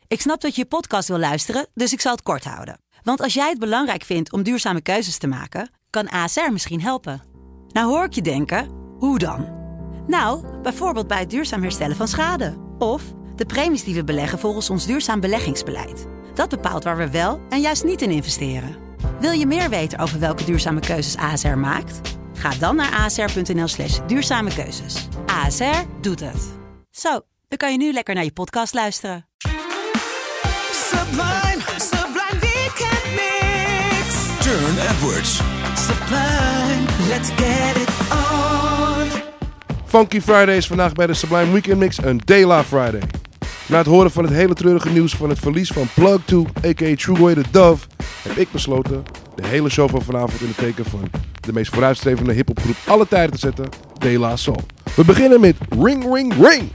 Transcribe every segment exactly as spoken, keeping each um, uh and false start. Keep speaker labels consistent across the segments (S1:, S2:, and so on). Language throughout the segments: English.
S1: Ik snap dat je je podcast wil luisteren, dus ik zal het kort houden. Want als jij het belangrijk vindt om duurzame keuzes te maken, kan A S R misschien helpen. Nou hoor ik je denken, hoe dan? Nou, bijvoorbeeld bij het duurzaam herstellen van schade. Of de premies die we beleggen volgens ons duurzaam beleggingsbeleid. Dat bepaalt waar we wel en juist niet in investeren. Wil je meer weten over welke duurzame keuzes A S R maakt? Ga dan naar asr.nl slash duurzame keuzes. A S R doet het. Zo, dan kan je nu lekker naar je podcast luisteren.
S2: Sublime, Sublime Weekend Mix.
S3: Turne Edwards.
S2: Sublime, let's get it on.
S4: Funky Friday is vandaag bij de Sublime Weekend Mix een De La Friday. Na het horen van het hele treurige nieuws van het verlies van Plug two, a k a Trugoy the Dove, heb ik besloten de hele show van vanavond in het teken van de meest vooruitstrevende hiphopgroep alle tijden te zetten, De La Soul. We beginnen met Ring Ring Ring.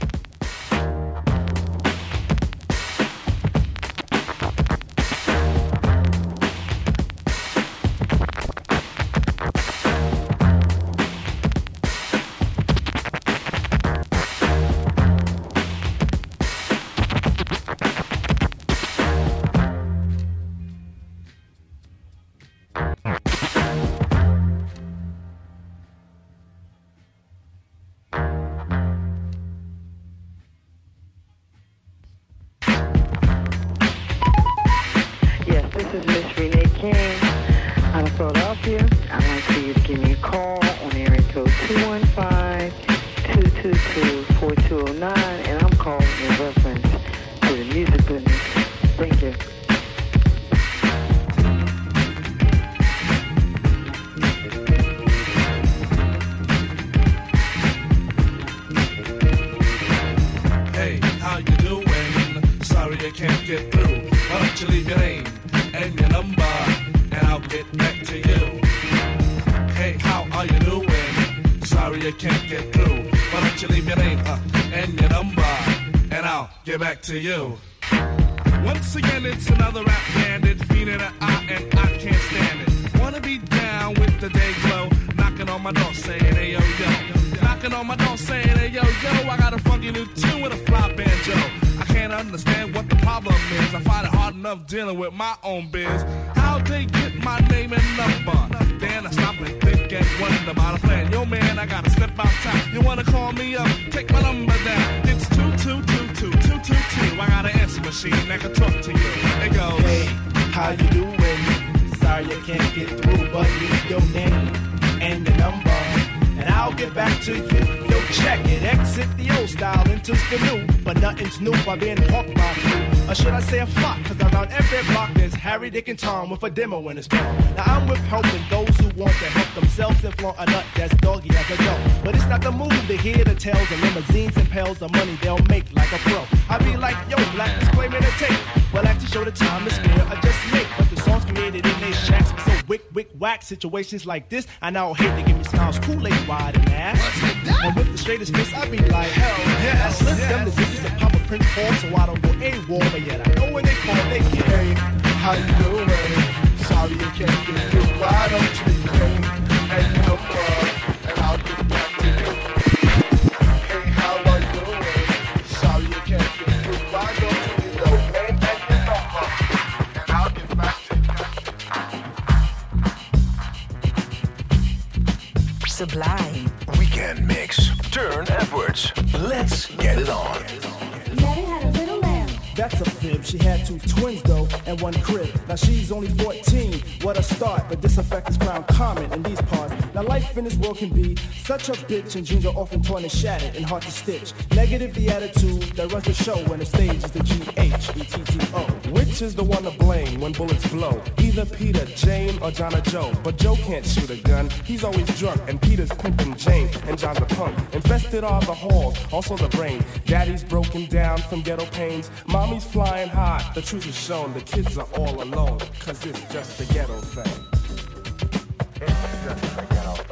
S5: To you. Once again, it's another rap bandit, fiend in the eye, and I can't stand it. Wanna be down with the day glow, knocking on my door saying, hey yo yo. Knocking on my door saying, hey yo yo, I got a funky new tune with a fly banjo. I can't understand what the problem is. I find it hard enough dealing with my own biz. How they get my name and number? Then I stop and think and wonder about a plan. Yo man, I gotta step outside. You wanna call me up? Take my number down. It's two two two two two two two. I got an answer machine that can talk to you. It goes,
S6: hey, how you doing? Sorry I can't get through, but leave your name and your number, and I'll get back to you. Yo, check it, exit the old style, enters the new, but nothing's new by being hawked by you. Or should I say a flock, cause around every block there's Harry, Dick, and Tom with a demo in his mouth. Now I'm with helping those who want to help themselves and flaunt a nut that's doggy as a dough. But it's not the move to hear the tales of limousines and pails of money they'll make like a pro. I be like, yo, black is claiming a tape. Well, I like to show the time is fair, I just make. But the songs created in they shacks be so wick, wick, whack. Situations like this, I now hate to give me smiles, Kool-Aid wide and ass. And with the straightest face, I be like, hell yeah. I slip them the digits and pop a print form so I don't go AWOL. But yet I know when they call, they get.
S7: Hey, how you doing? Sorry you can't get through. Why don't you leave me and your number, and I'll get back to you. Hey, how are you doing? Sorry you can't get through. Why don't you leave your name and your number, and I'll get back to you.
S3: Sublime Weekend Mix. Turne Edwards. Let's get it on.
S8: Mary had a little lamb.
S6: That's a fib. She had two twins though, and one crib. Now she's only fourteen. What a start, but this effect is ground common in these parts. Now life in this world can be such a bitch, and dreams are often torn and shattered and hard to stitch. Negative the attitude that runs the show, when the stage is the G H E T T O.
S9: Which is the one to blame when bullets blow? Either Peter, Jane, or John or Joe. But Joe can't shoot a gun, he's always drunk. And Peter's pimping Jane, and John's a punk. Infested are the halls, also the brain. Daddy's broken down from ghetto pains. Mommy's flying high, the truth is shown. The kids are all alone, cause it's just a ghetto thing.
S7: It's just a ghetto thing.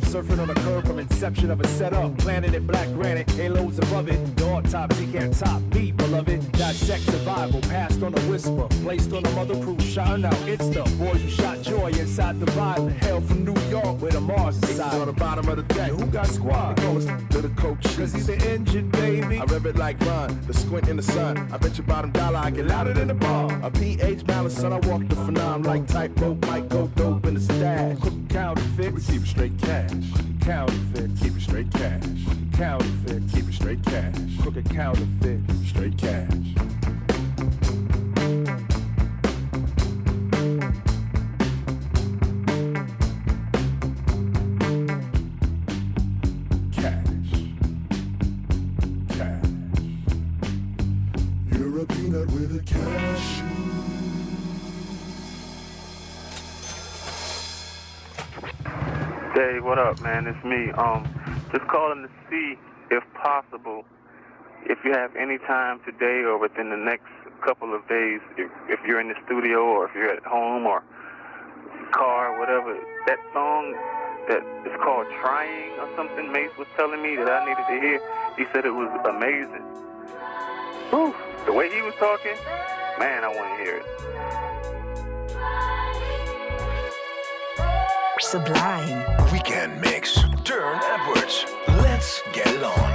S6: surfing on a curve from inception of a setup. Planet in black granite, halos above it. The autopsy can't top me, beloved. Dissect survival, passed on a whisper. Placed on a mother cruise, shouting out, it's the boys who shot joy inside the violent. Hail from New York, where the Mars is inside.
S7: On the bottom of the deck,
S6: Who got squad?
S7: goes to the coach.
S6: Cause he's the engine, baby.
S7: I rev it like Ron, the squint in the sun. I bet you bottom dollar I get louder than the bar. A pH balance, son, I walk the phenom like tightrope, might go dope in the stash.
S6: Counterfeit,
S7: We keep it straight cash.
S6: counterfeit,
S7: Keep it straight cash.
S6: counterfeit,
S7: Keep it straight cash.
S6: crooked counterfeit.
S7: Straight cash. Cash. Cash. You're a peanut with a cashew.
S10: Hey, what up, man? It's me. Um, just calling to see, if possible, if you have any time today or within the next couple of days, if, if you're in the studio or if you're at home or car, whatever, that song that is called Trying or something, Mace was telling me that I needed to hear. He said it was amazing. Whew, the way he was talking, man, I want to hear it.
S2: Sublime.
S3: Weekend Mix. Turn Edwards. Let's get it on.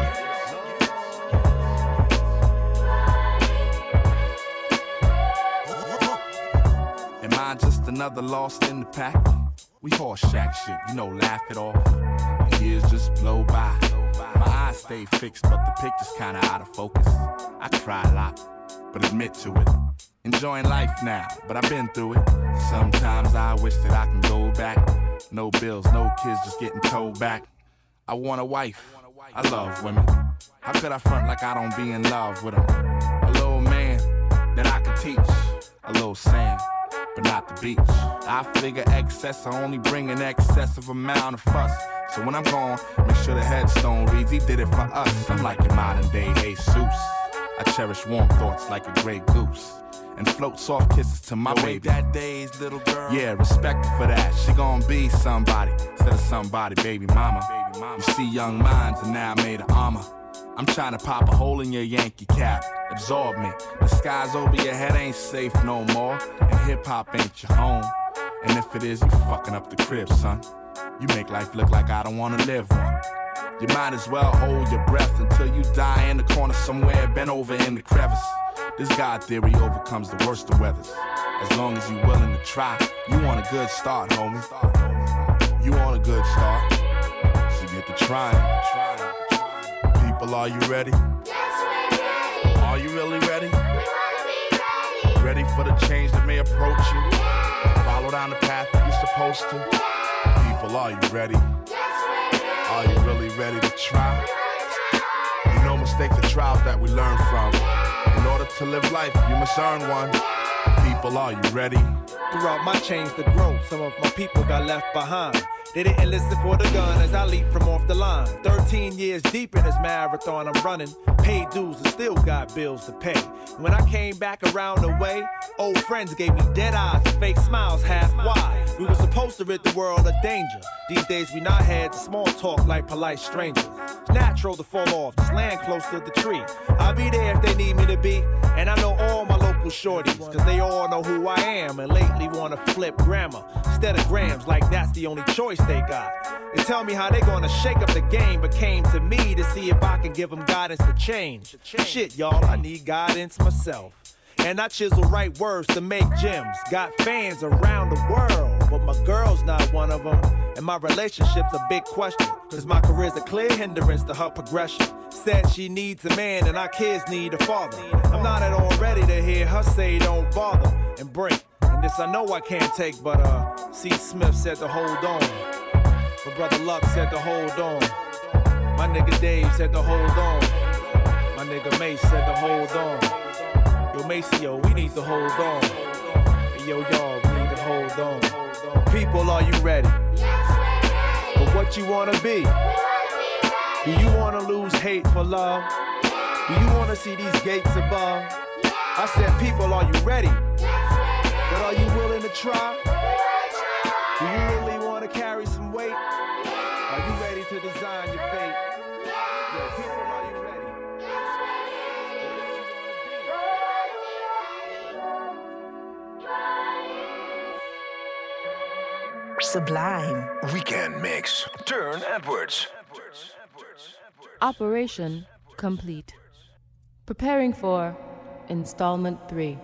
S11: Am I just another lost in the pack? We horse shack shit, you know, laugh it off. The years just blow by. My eyes stay fixed, but the picture's kinda out of focus. I cry a lot, but admit to it. Enjoying life now, but I've been through it. Sometimes I wish that I can go back. No bills, no kids, just getting told back. I want a wife, I love women. How could I front like I don't be in love with them? A little man that I could teach. A little sand, but not the beach. I figure excess, I only bring an excessive amount of fuss. So when I'm gone, make sure the headstone reads, he did it for us. I'm like your modern day Jesus. I cherish warm thoughts like a gray goose. And float soft kisses to my baby. That day's little girl. Yeah, respect her for that. She gon' be somebody instead of somebody, baby mama. Baby mama. You see young minds and now made of armor. I'm trying to pop a hole in your Yankee cap. Absorb me. The skies over your head ain't safe no more. And hip-hop ain't your home. And if it is, you fucking up the crib, son. You make life look like I don't wanna live one. You might as well hold your breath until you die in the corner somewhere, bent over in the crevice. This God theory overcomes the worst of weathers. As long as you willing to try, you want a good start, homie. You want a good start, so get to trying. People, are you ready?
S8: Yes, we're ready.
S11: Are you really ready?
S8: We wanna be ready.
S11: Ready for the change that may approach you? Follow down the path that you're supposed to. People, are you ready?
S8: Yes, we're ready.
S11: Are you really ready to try? You know mistakes are trials that we learn from. In order to live life, you must earn one. People, are you ready?
S6: Throughout my change to grow, some of my people got left behind. They didn't listen for the gun as I leap from off the line. Thirteen years deep in this marathon I'm running. Paid dues and still got bills to pay. When I came back around the way, old friends gave me dead eyes and fake smiles half wide. We were supposed to rid the world of danger. These days we not had the small talk like polite strangers. It's natural to fall off, just land close to the tree. I'll be there if they need me to be. And I know all my local shorties, cause they all know who I am. And lately wanna flip grammar instead of grams, like that's the only choice they got. They tell me how they gonna shake up the game, but came to me to see if I can give them guidance to change. Shit, y'all, I need guidance myself. And I chisel right words to make gems. Got fans around the world, but my girl's not one of them. And my relationship's a big question, cause my career's a clear hindrance to her progression. Said she needs a man and our kids need a father. I'm not at all ready to hear her say don't bother and break. And this I know I can't take, but uh, C. Smith said to hold on. My brother Luck said to hold on. My nigga Dave said to hold on. My nigga Mace said to hold on. Yo, Maceo, we need to hold on. Hey, yo, y'all, we need to hold on. People, are you ready?
S8: Yes, we're ready.
S6: For what you wanna be?
S8: We wanna be ready.
S6: Do you wanna lose hate for love? Do you wanna see these gates above? I said, people, are you ready?
S8: Yes, we're ready.
S6: But are you willing to try?
S8: We wanna try.
S6: Do you really wanna carry some weight? Are you
S2: Sublime.
S3: Weekend Mix. Turn Edwards.
S12: Operation complete. Preparing for installment three.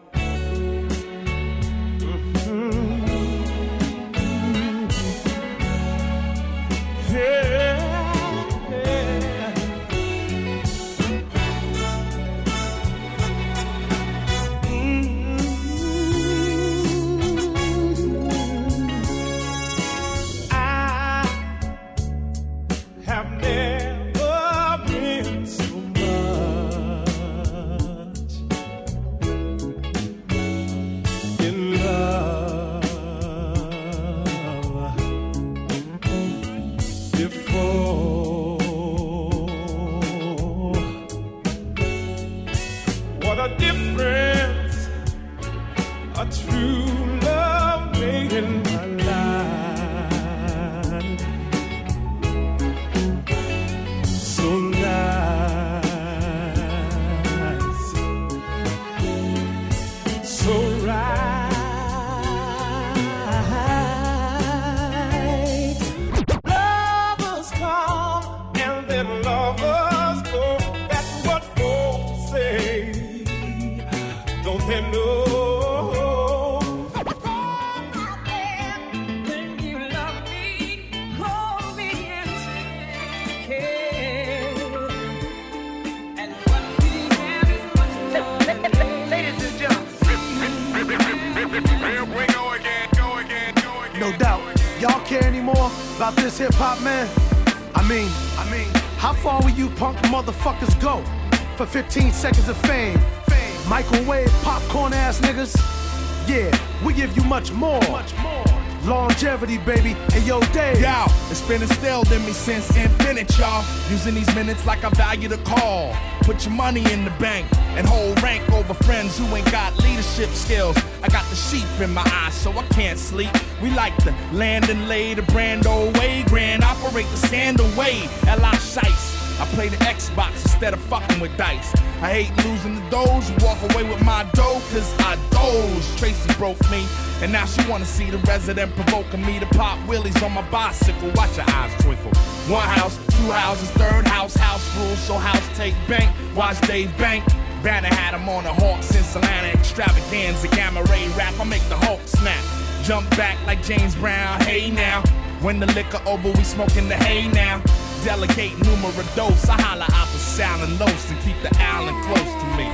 S6: About this hip-hop, man. I mean, I mean, how far will you punk motherfuckers go for fifteen seconds of fame? Fame. Microwave popcorn ass niggas. Yeah, we give you much more. Much more. Longevity, baby. Hey, yo, Dave.
S11: Yo, it's been instilled in me since infinite, y'all. Using these minutes like I value the call. Put your money in the bank and hold rank over friends who ain't got leadership skills. I got the sheep in my eyes, so I can't sleep. We like to land and lay the brand old way. Grand operate the scandal way. L I Shice. I play the Xbox instead of fucking with dice. I hate losing the doze, walk away with my dough, cause I doze. Tracy broke me, and now she wanna see the resident provoking me to pop wheelies on my bicycle. Watch your eyes twinkle. One house, two houses, third house, house rules, so house take bank. Watch Dave Bank. Banner had him on the Hawks in Atlanta extravaganza, gamma ray rap. I make the Hulk snap. Jump back like James Brown, hey now. When the liquor over, we smoking the hay now. Delegate numero dos, I holla out the sound and los and keep the island close to me.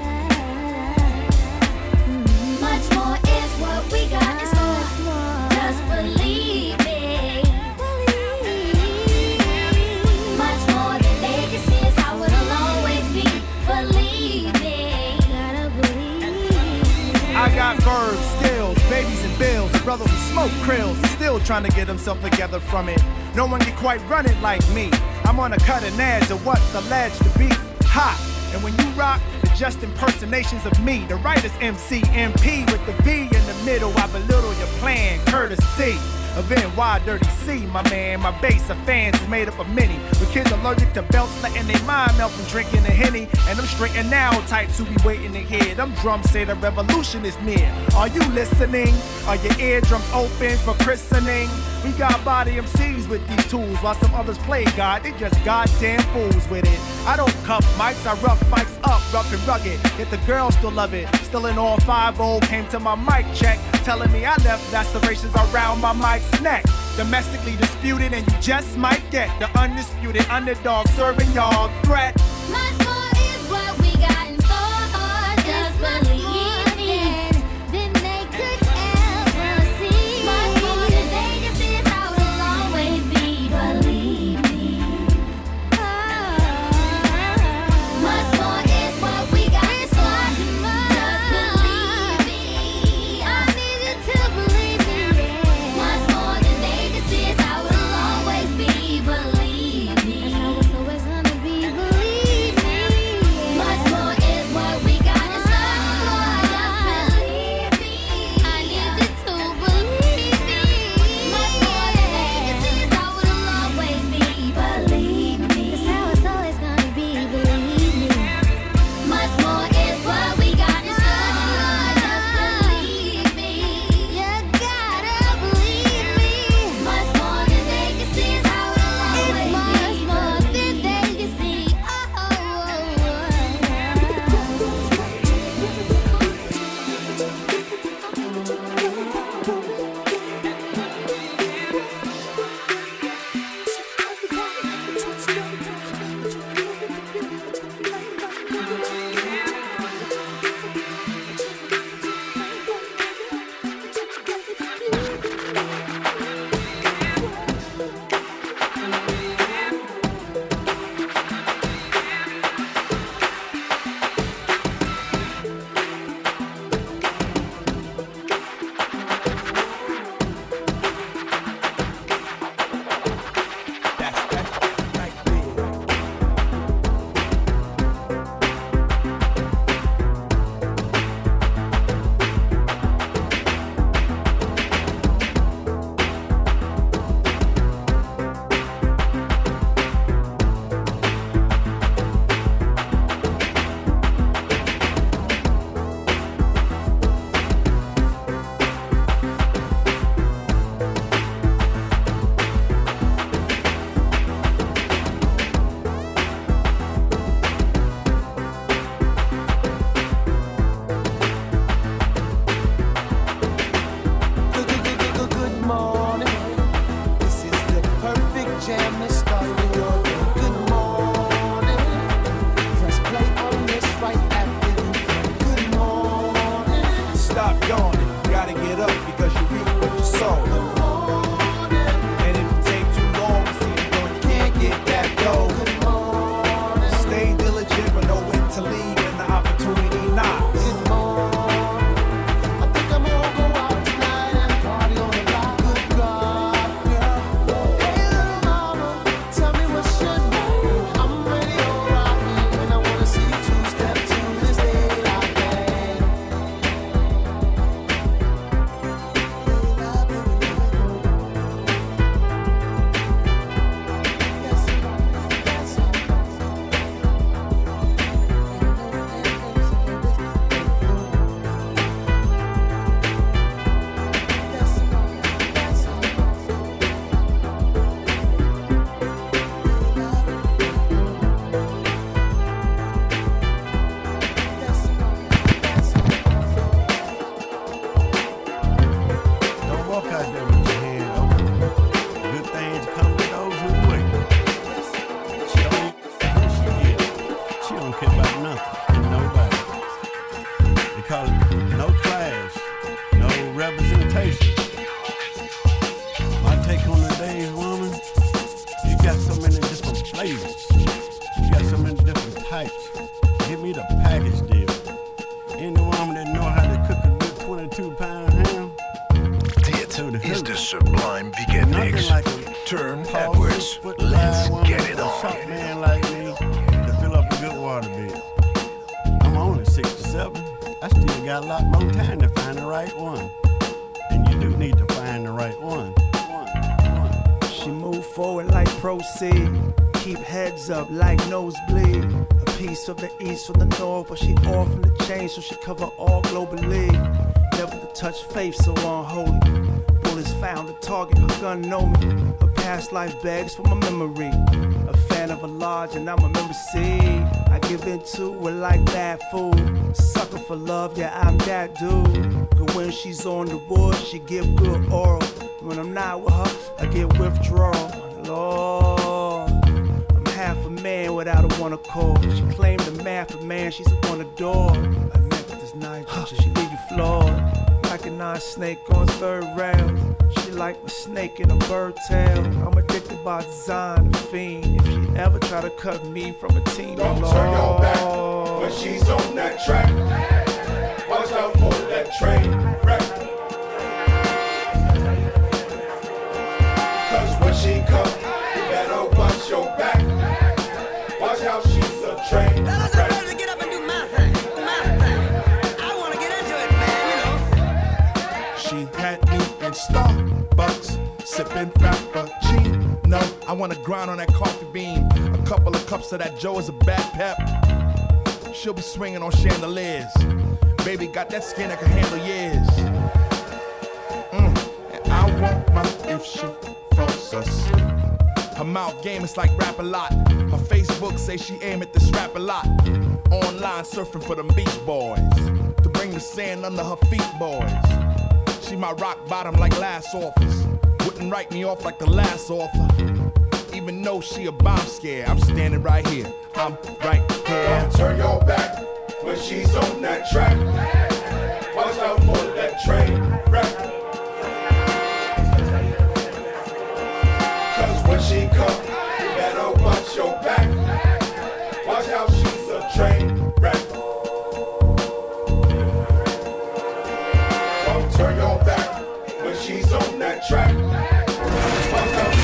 S8: Much more is what we got in store. Just believe it. Much more than they can see is how it'll always be. Believe it. Gotta believe.
S6: I got verbs, skills, babies and bills. A brother who smoke krills, still trying to get himself together from it. No one can quite run it like me. I'm on a cutting edge of what's alleged to be hot. And when you rock, the just impersonations of me. The writer's M C M P with the V in the middle. I belittle your plan, courtesy of N Y Dirty C, my man. My base of fans is made up of many. With kids allergic to belts, letting their mind melt from drinking the Henny. And them straight and now types who be waiting to hear. Them drums say the revolution is near. Are you listening? Are your eardrums open for christening? We got body M Cs with these tools, while some others play God. They just goddamn fools with it. I don't cuff mics, I rough mics up, rough and rugged. Yet the girls still love it. Still in all five old, came to my mic check, telling me I left lacerations around my mic's neck. Domestically disputed, and you just might get the undisputed underdog serving y'all threat.
S8: Much more is what we got in store. Just believe me. Then they could ever see. Much more than they can see is how it'll always be. Believe me. Much more is what we got in store. Just believe me. I need you to believe me. Much more than they can see is how it'll always be. Believe me. That's how it's always gonna be. Believe me.
S13: twenty-seven, I still got a lot more time to find the right one. And you do need to find the right one.
S6: She move forward like proceed. Keep heads up like nosebleed. A piece of the east from the north, but she all from the chain, so she cover all globally. Never to touch faith so unholy. Bullets found a target, her gun know me. Her past life begs for my memory. A fan of a large and I'm a member C. I give into it like bad food. Sucker for love, yeah I'm that dude. But when she's on the wood, she give good oral. When I'm not with her, I get withdrawal. Lord, I'm half a man without a one accord. She claimed the math of man, she's a one adore. I met this night, she leave you floored. Like a non-snake on third rail. She like my snake in a bird tail. I'm addicted by design, a fiend. If she ever try to cut me from a team,
S14: don't
S6: Lord.
S14: turn your back when she's on that track. Watch out for that train wreck. Cause when she come, you better watch your back. Watch how she's a train wreck.
S9: She had me in Starbucks, sipping Frappuccino. I wanna grind on that coffee bean. A couple of cups of that Joe is a bad pep. She'll be swinging on chandeliers. Baby got that skin that can handle years. Mm. And I want my if she falls asleep. Her mouth game is like rap a lot. Her Facebook say she aim at this rap a lot. Online surfing for them beach boys. To bring the sand under her feet, boys. She my rock bottom like last office. Wouldn't write me off like the last author. Even though she a bomb scare, I'm standing right here. I'm right here.
S14: Don't turn your back when she's on that track. Watch out for that train wreck. Cause when she come, you better watch your back. Watch how she's a train wreck. Don't turn your back when she's on that track. Watch out.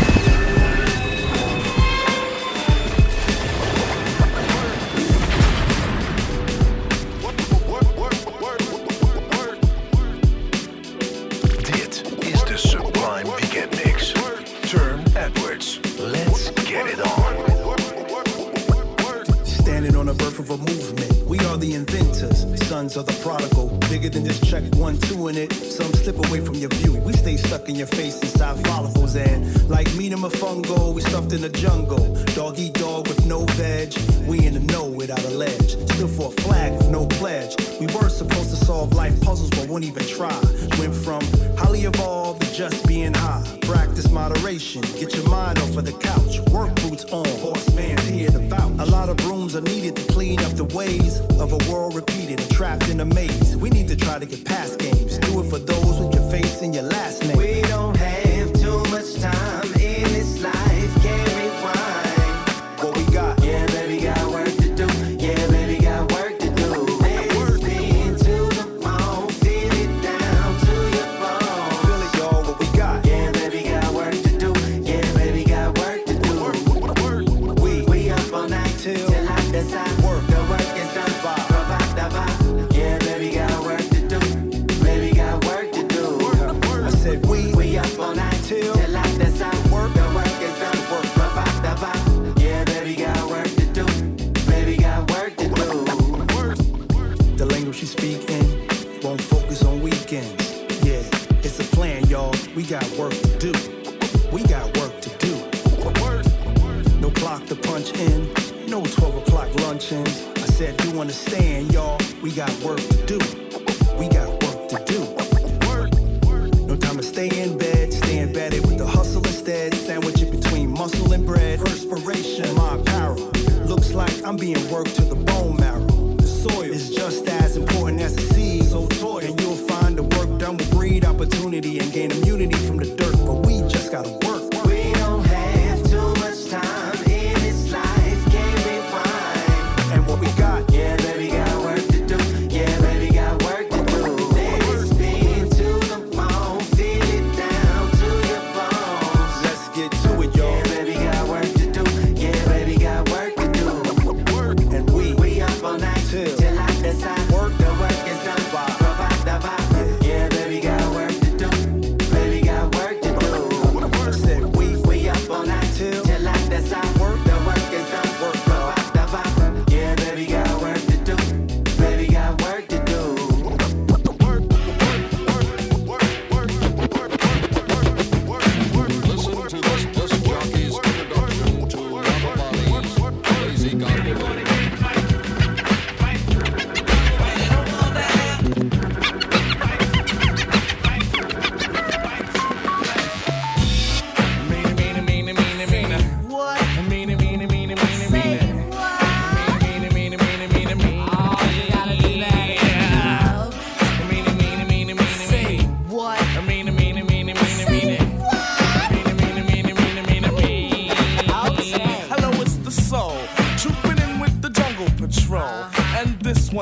S15: Of a movement. We are the inventors, sons of the prodigal. Bigger than just check one, two in it. Some slip away from your view. We stay stuck in your face inside follicles. And like meat and fungo, we stuffed in the jungle. Dog eat dog with no veg. We in the know without a ledge. Still for a flag with no pledge. We were supposed to solve life puzzles, but won't even try. Went from highly evolved to just being high. Practice moderation. Get your mind off of the couch. Work boots on. Horseman's here to vouch. A lot of brooms are needed to clean up the ways of a world repeated and trapped in a maze. We need to try to get past games. Do it for those with your face and your last name.
S2: We don't have too much time in this life. Can't rewind.
S15: What we got?
S2: Yeah, baby, got work to do. Yeah, baby, got work to do. Let's spin to the bone. Feel it down to your bone.
S15: Feel it, y'all. What we got?
S2: Yeah, baby, got work to do. Yeah, baby, got work to do.
S15: Work, work, work. We,
S2: we up all night till, till I decide.
S15: Work.
S2: The work is done.
S15: Vibe.
S2: Provide the vibe. Yeah, baby, got work to do. Baby, got work to do.
S15: Work, work. I said we,
S2: we up all night
S15: till,
S2: till I decide.
S15: Work.
S2: The work is done.
S15: Work.
S2: Provide the vibe. Yeah, baby, got work to do. Baby, got work to do.
S15: The language she speak in won't focus on weekends. Yeah, it's a plan, y'all. We got work to do. We got work to do. No clock to punch in. No twelve o'clock luncheons. I said, you understand, y'all. We got work to do. We got work to do. No time to stay in bed. Stay embedded with the hustle instead. Sandwich it between muscle and bread. Perspiration, my apparel. Looks like I'm being worked to the bone marrow. The soil is just as important as the seed. So toil, and you'll find the work done will breed opportunity and gain immunity from the dirt. But we just gotta work.
S2: We don't have too much time in this life. Can't rewind.
S15: And what we got?
S2: Yeah, baby, got work to do. Yeah, baby, got work to do. Let's spin to the bone. Feel it down to your bones.
S15: Let's get to it, y'all.
S2: Yeah, baby, got work to do. Yeah, baby, got work to do.
S15: And we,
S2: we up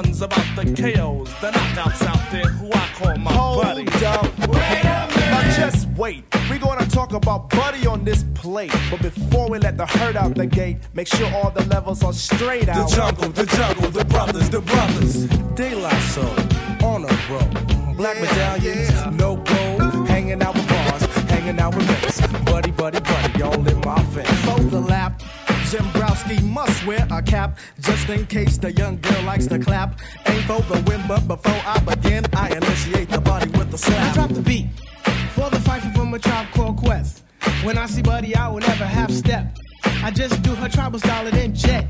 S5: ones about the K Os, the knockouts out there who I call my
S6: Hold
S5: buddy.
S6: up. Wait a minute. Now just wait. We're gonna talk about Buddy on this plate. But before we let the herd out the gate, make sure all the levels are straight
S5: The
S6: out.
S5: jungle, the jungle, the brothers, the brothers.
S6: De La Soul, on a roll. Black medallions, no gold. Hanging out with bars, hanging out with mates. Buddy, buddy, buddy, all in my face.
S16: For the lap, Jim Browski must wear a cap just in case the young girl likes to clap. Ain't for the win, but before I begin, I initiate the body with the slap. I drop the beat for the fight from a Tribe Called Quest. When I see Buddy, I will never half step. I just do her tribal style and then jet.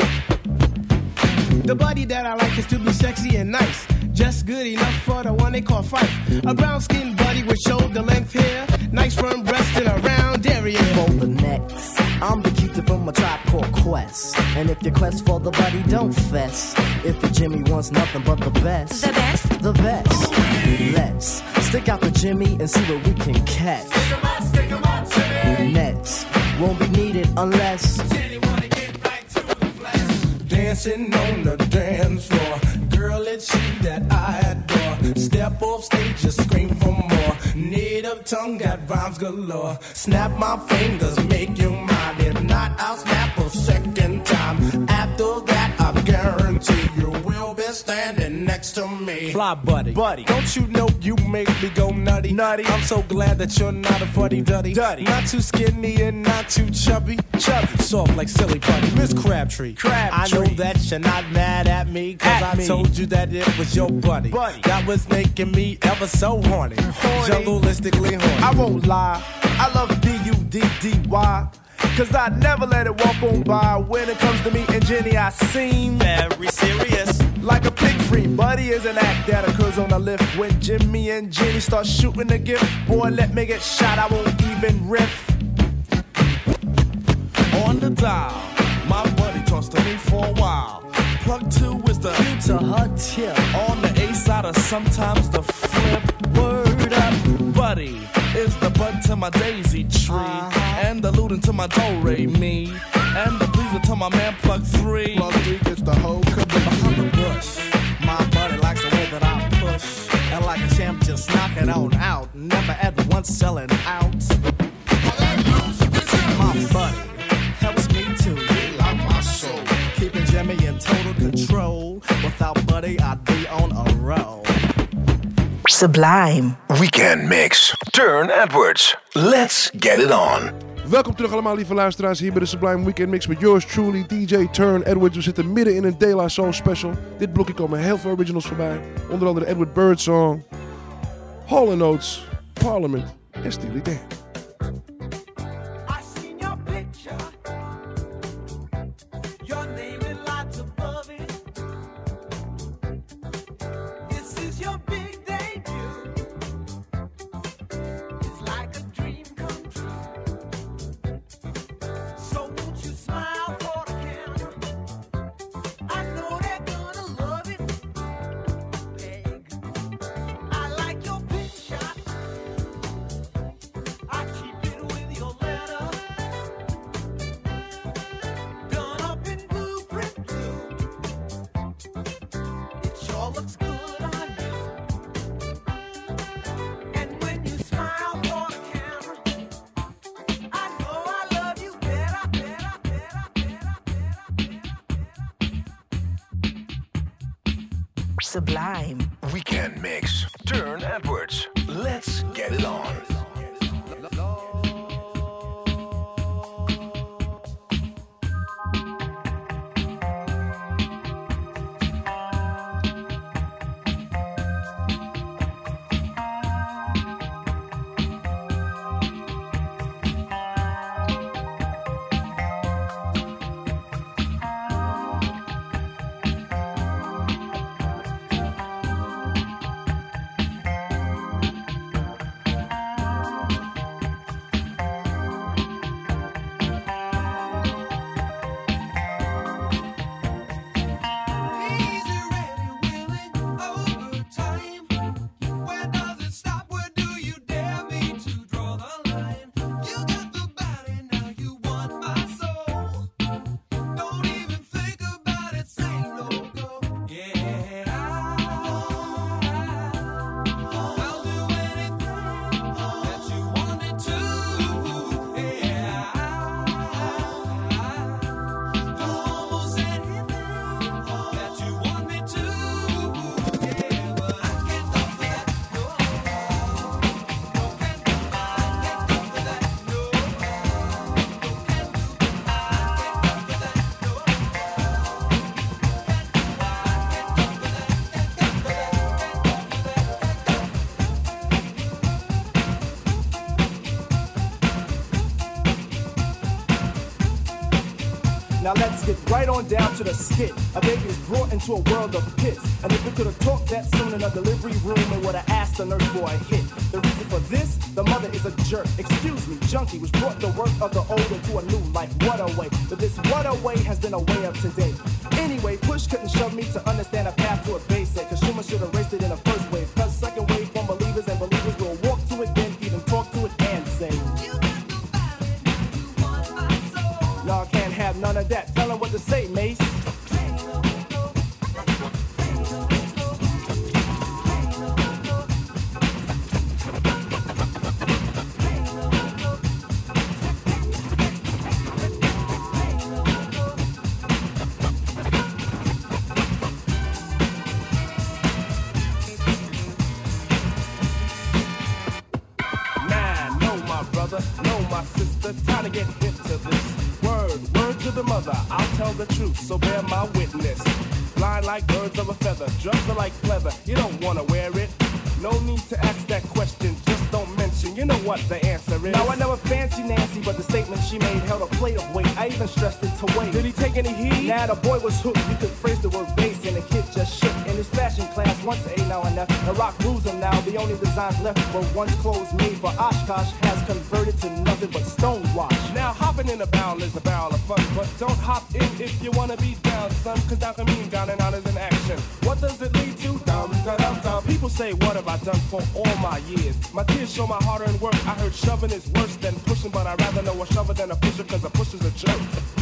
S16: The buddy that I like is to be sexy and nice, just good enough for the one they call Fife. A brown skinned buddy with shoulder length hair, nice firm breast and a round area.
S17: For the next, I'm the cutie from a Tribe Called Quest. And if your quest for the buddy, don't fess. If the Jimmy wants nothing but the best, the best, the best. Let's stick out the Jimmy and see what we can catch. Stick 'em up, stick 'em up, Jimmy. Nets won't be needed unless Jenny wanna get right to the flesh.
S6: Dancing on the dance floor, girl, it's you that I adore. Step off stage, just scream for more. Native tongue got rhymes galore. Snap my fingers, make you mine. If not, I'll snap a second time. After that, I guarantee you will be standing next to me.
S16: Fly buddy,
S6: buddy, don't you know you make me go nutty? Nutty. I'm so glad that you're not a fuddy duddy. Duddy. Not too skinny and not too chubby. Chubby. Soft like silly putty. Miss Crabtree. Crabtree. I know that you're not mad at me, cause at I me. told you that it was your buddy. buddy. That was making me ever so horny. horny. Jungleistically horny. I won't lie, I love B U D D Y. Cause I never let it walk on by. When it comes to me and Jenny, I seem very serious. Like a pig free, Buddy is an act that occurs on the lift. When Jimmy and Jenny start shooting the gift, boy, let me get shot, I won't even riff.
S5: On the dial, my buddy talks to me for a while. Plug two is the
S17: you to her tip.
S5: On the A side or sometimes the flip. Word up, buddy is the bud to my daisy tree, uh-huh. And the lootin' to my do-re me, and the pleaser to my man Plug three.
S6: Plug three gets the whole caboose.
S16: Behind the bush, my buddy likes the way that I push, and like a champ, just knock it on out. Never at once selling out. My buddy helps me to heal out my soul, keeping Jimmy in total control. Without Buddy, I'd be on a roll.
S3: Sublime Weekend Mix. Turn Edwards. Let's get it on.
S4: Welkom terug allemaal, lieve luisteraars, hier bij de Sublime Weekend Mix met yours truly, D J Turn Edwards. We zitten midden in een De La Soul special. Dit blokje komen heel veel originals voorbij. Onder andere Edward Birdsong, Hall and Oates, Parliament en Steely Dan.
S3: Sublime Weekend Mix. Turn Edwards. Let's get it on.
S16: get right on down to the skit. A baby is brought into a world of pits. And if we could have talked that soon in a delivery room, it would have asked the nurse for a hit. The reason for this, the mother is a jerk. Excuse me, junkie, which brought the work of the old into a new life. What a way. But this what a way has been a way of today. Anyway, push couldn't shove me to understand a path to a basic. Cause Schumann should have raced it in the first wave. Cause second wave from believers and believers will walk to it, then even talk to it and say, y'all can't have none of that. Tell them what to say, Mace.
S9: Know my sister, time to get hip to this. Word, word to the mother, I'll tell the truth, so bear my witness. Blind like birds of a feather, drugs are like pleather, you don't wanna wear it. No need to ask that question, just don't mention, you know what the answer is.
S16: Now I never fancy Nancy, but the statement she made held a plate of weight. I even stressed it to weight.
S9: Did he take any heed?
S16: Nah, the boy was hooked. You could phrase the word bass, and the kid just shook. In his fashion class, once A now and F. The rock rules him now. The only designs left were once clothes made for Oshkosh has converted to nothing but stonewash.
S9: Now hopping in a barrel is a barrel of fun, but don't hop in if you wanna be down, son. Cause down can mean down and out is an action. What does it lead to? Dum da dum dum. People say, what have I done for all my years? My tears show my hard-earned work. I heard shoving is worse than pushing, but I'd rather know a shover than a pusher, cause a pusher's a jerk.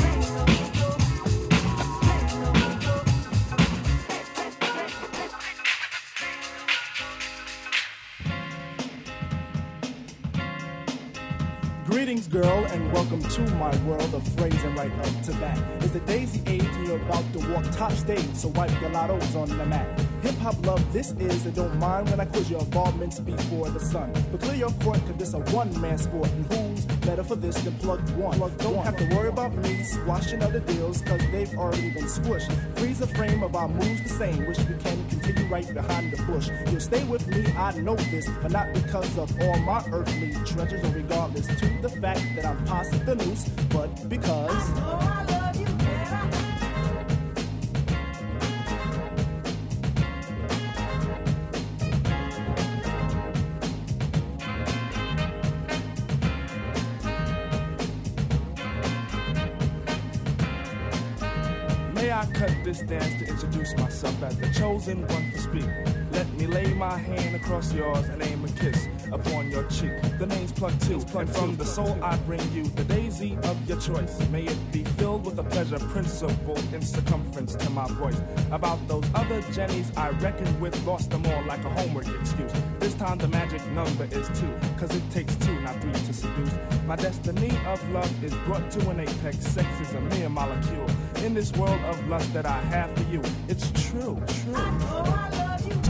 S16: Greetings, girl, and welcome to my world of phrasing right up to bat. It's the daisy age and you're about to walk top stage, so wipe your lottos on the mat. Hip-hop love this is, and don't mind when I quiz your involvements before the sun. But clear your court, cause this a one-man sport, and who's better for this than Plug One? Plug don't one. Have to worry about me squashing other deals, cause they've already been squished. Freeze a frame of our moves the same, wish we can continue right behind the bush. You'll stay with me, I know this, but not because of all my earthly treasures, or regardless to the fact that I'm past the noose, but because I know I love you,
S9: May I cut this dance to introduce myself as the chosen one to speak. Let me lay my hand across yours and aim a kiss upon your cheek. The name's Plug Two, and from the soul I bring you the daisy of your choice. May it be filled with a pleasure principle in circumference to my voice. About those other Jennies I reckoned with, lost them all like a homework excuse. This time the magic number is two, cause it takes two, not three to seduce. My destiny of love is brought to an apex. Sex is a mere molecule in this world of lust that I have for you. It's true, true. I know I love you.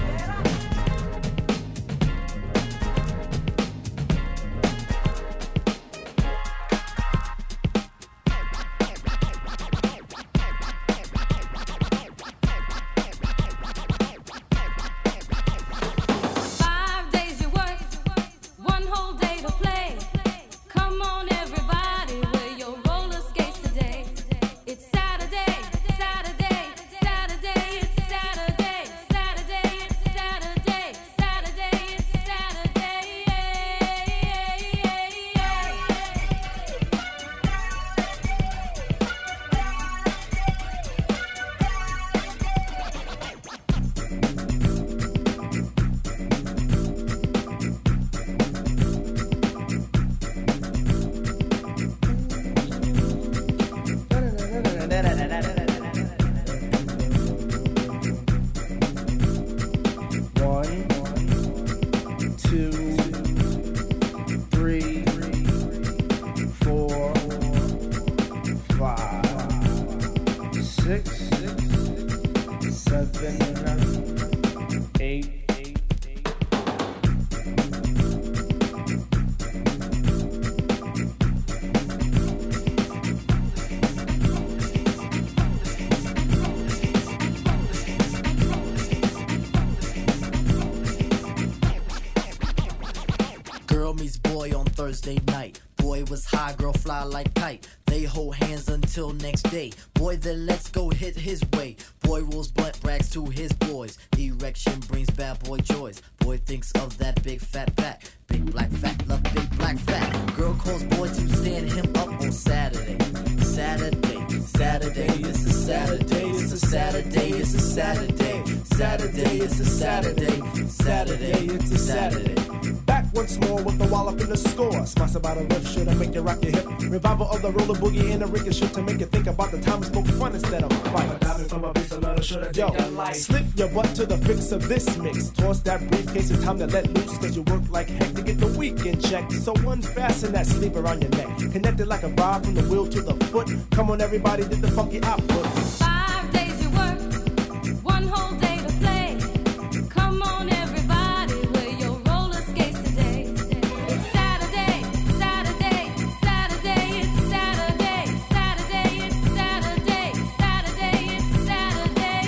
S17: Thursday night. Boy was high, girl fly like kite. They hold hands until next day. Boy, then let's go hit his way. Boy rolls blunt brags to his boys. Erection brings bad boy joys. Boy thinks of that big fat back. Big black fat, love big black fat. Girl calls boy to stand him up on Saturday. Saturday, Saturday, it's a Saturday, it's a Saturday, it's a Saturday. Saturday, it's a Saturday. Saturday, it's a Saturday.
S6: Back once more with the wallop in the score. Sponsored by the riff should I make you rock your hip. Revival of the roller boogie and the ricochet to make you think about the time we spoke fun instead of fight. Yo, slip your butt to the fix of this mix. Toss that briefcase, it's time to let loose. Cause you work like heck to get the weekend check. So unfasten that sleeve around your neck. Connected like a rod from the wheel to the foot. Come on everybody, did the funky output.
S18: Five days you work, one whole day to play. Come on everybody, wear your roller skates today. It's Saturday, Saturday, Saturday, it's Saturday, Saturday, it's Saturday, Saturday, it's Saturday,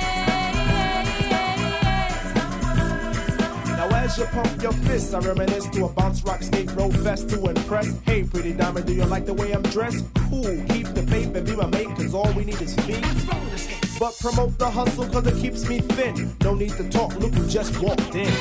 S18: yeah.
S6: Now as you pump your fists, I reminisce to a bounce rock skate roll fest to impress. Hey pretty diamond, do you like the way I'm dressed? Cool, keep the faith and be my mate, cause all we need is feet. But promote the hustle cause it keeps me thin. No need to talk, look who just walked in.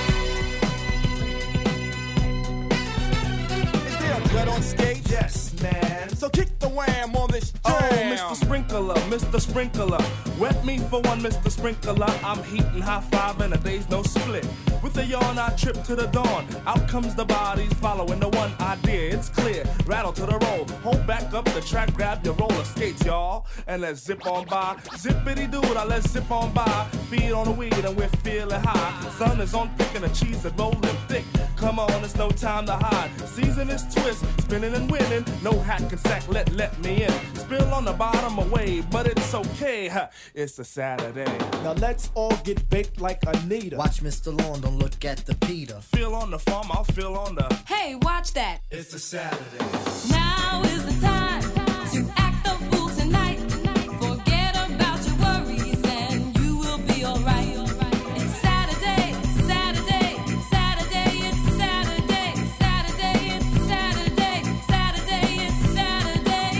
S9: Is there a gut on skate?
S6: Yes, man.
S9: So kick the wham on this jam.
S5: Oh, Mister Sprinkler, Mister Sprinkler. Wet me for one, Mister Sprinkler. I'm heating high five and a day's no split. With a yawn, I trip to the dawn. Out comes the bodies following the one idea. It's clear, rattle to the roll. Hold back up the track, grab your roller skates, y'all. And let's zip on by. Zippity doo, now let's zip on by. Feed on the weed and we're feeling high. Sun is on thick and the cheese is rolling thick. Come on, it's no time to hide. Season is twist, spinning and winning. No hack and sack, let, let me in. Spill on the bottom away, but it's okay. Ha, it's a Saturday.
S6: Now let's all get baked like Anita.
S17: Watch Mister Lawn, don't look at the Peter.
S5: Feel on the farm, I'll feel on the.
S18: Hey, watch that.
S6: It's a Saturday.
S18: Now is the time to act the fool tonight. Forget about your worries and you will be alright. It's Saturday, Saturday, Saturday, it's Saturday, Saturday, it's Saturday, Saturday, it's Saturday.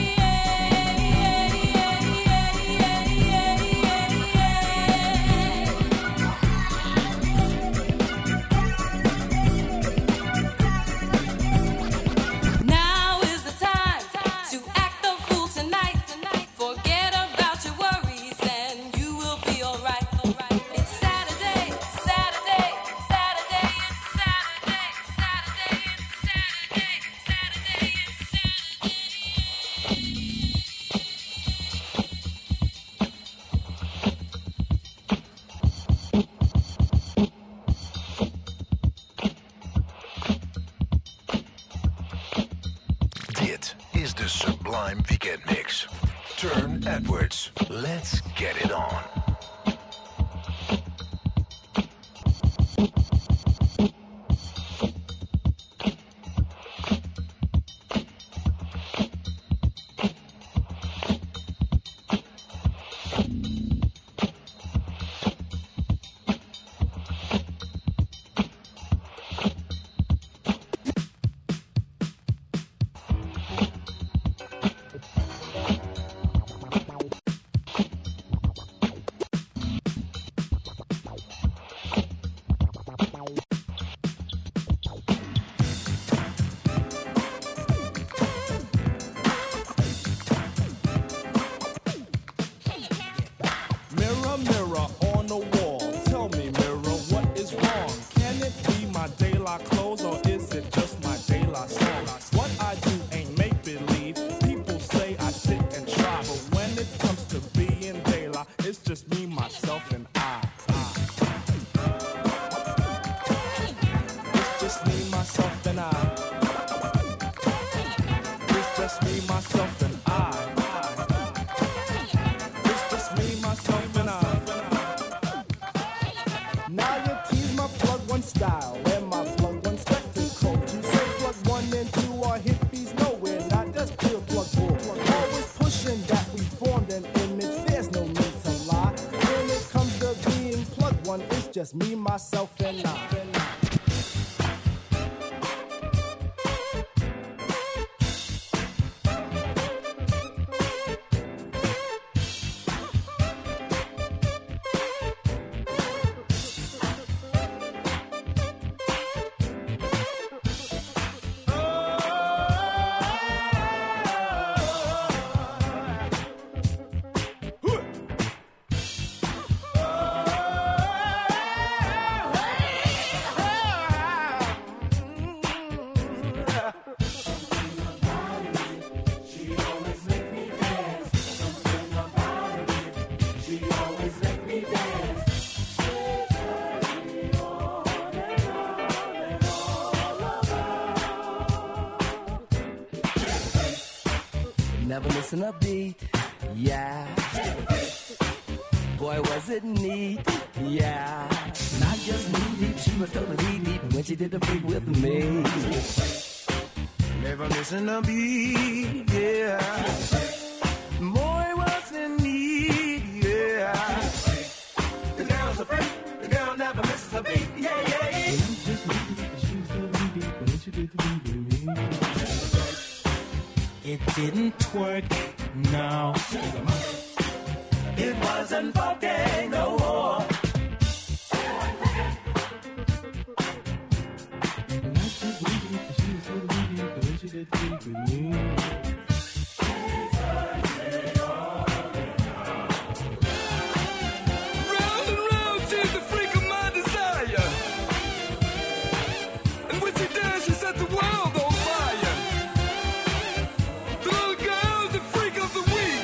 S18: Now is the time to act the fool tonight. Forget about your worries and you will be alright. It's Saturday, Saturday, Saturday, it's Saturday, Saturday, it's Saturday, Saturday,
S3: Dit is de Sublime Weekend Mix. Turn Edwards. Let's get it on.
S5: Mirror, mirror on the wall. Tell me, mirror, what is wrong? Can it be my daylight clothes or is it just my daylight song? What I do ain't make believe. People say I sit and try, but when it comes to being daylight, it's just me, myself, and I. It's just me, myself, and I. It's just me, myself, and I. It's just me, myself, and I.
S6: Now you tease my plug one style and my plug one spectacle. You say plug one and two are hippies nowhere, not just pure plug bull. Always pushing that we formed an image, there's no need to lie. When it comes to being plug one, it's just me, myself, and I.
S17: never missing a beat. Yeah. Boy, was it neat. Yeah. Not just knee deep, she was totally deep when she did the freak with me.
S2: Never missing a beat, yeah. Boy, was it neat, yeah. The girl's a freak, the girl never misses a beat, yeah, yeah, yeah.
S6: It didn't work, no.
S2: It wasn't funky no more.
S5: Round and round, she's the freak of my desire. And when she does, she set the world on fire. The little girl's the freak of the week.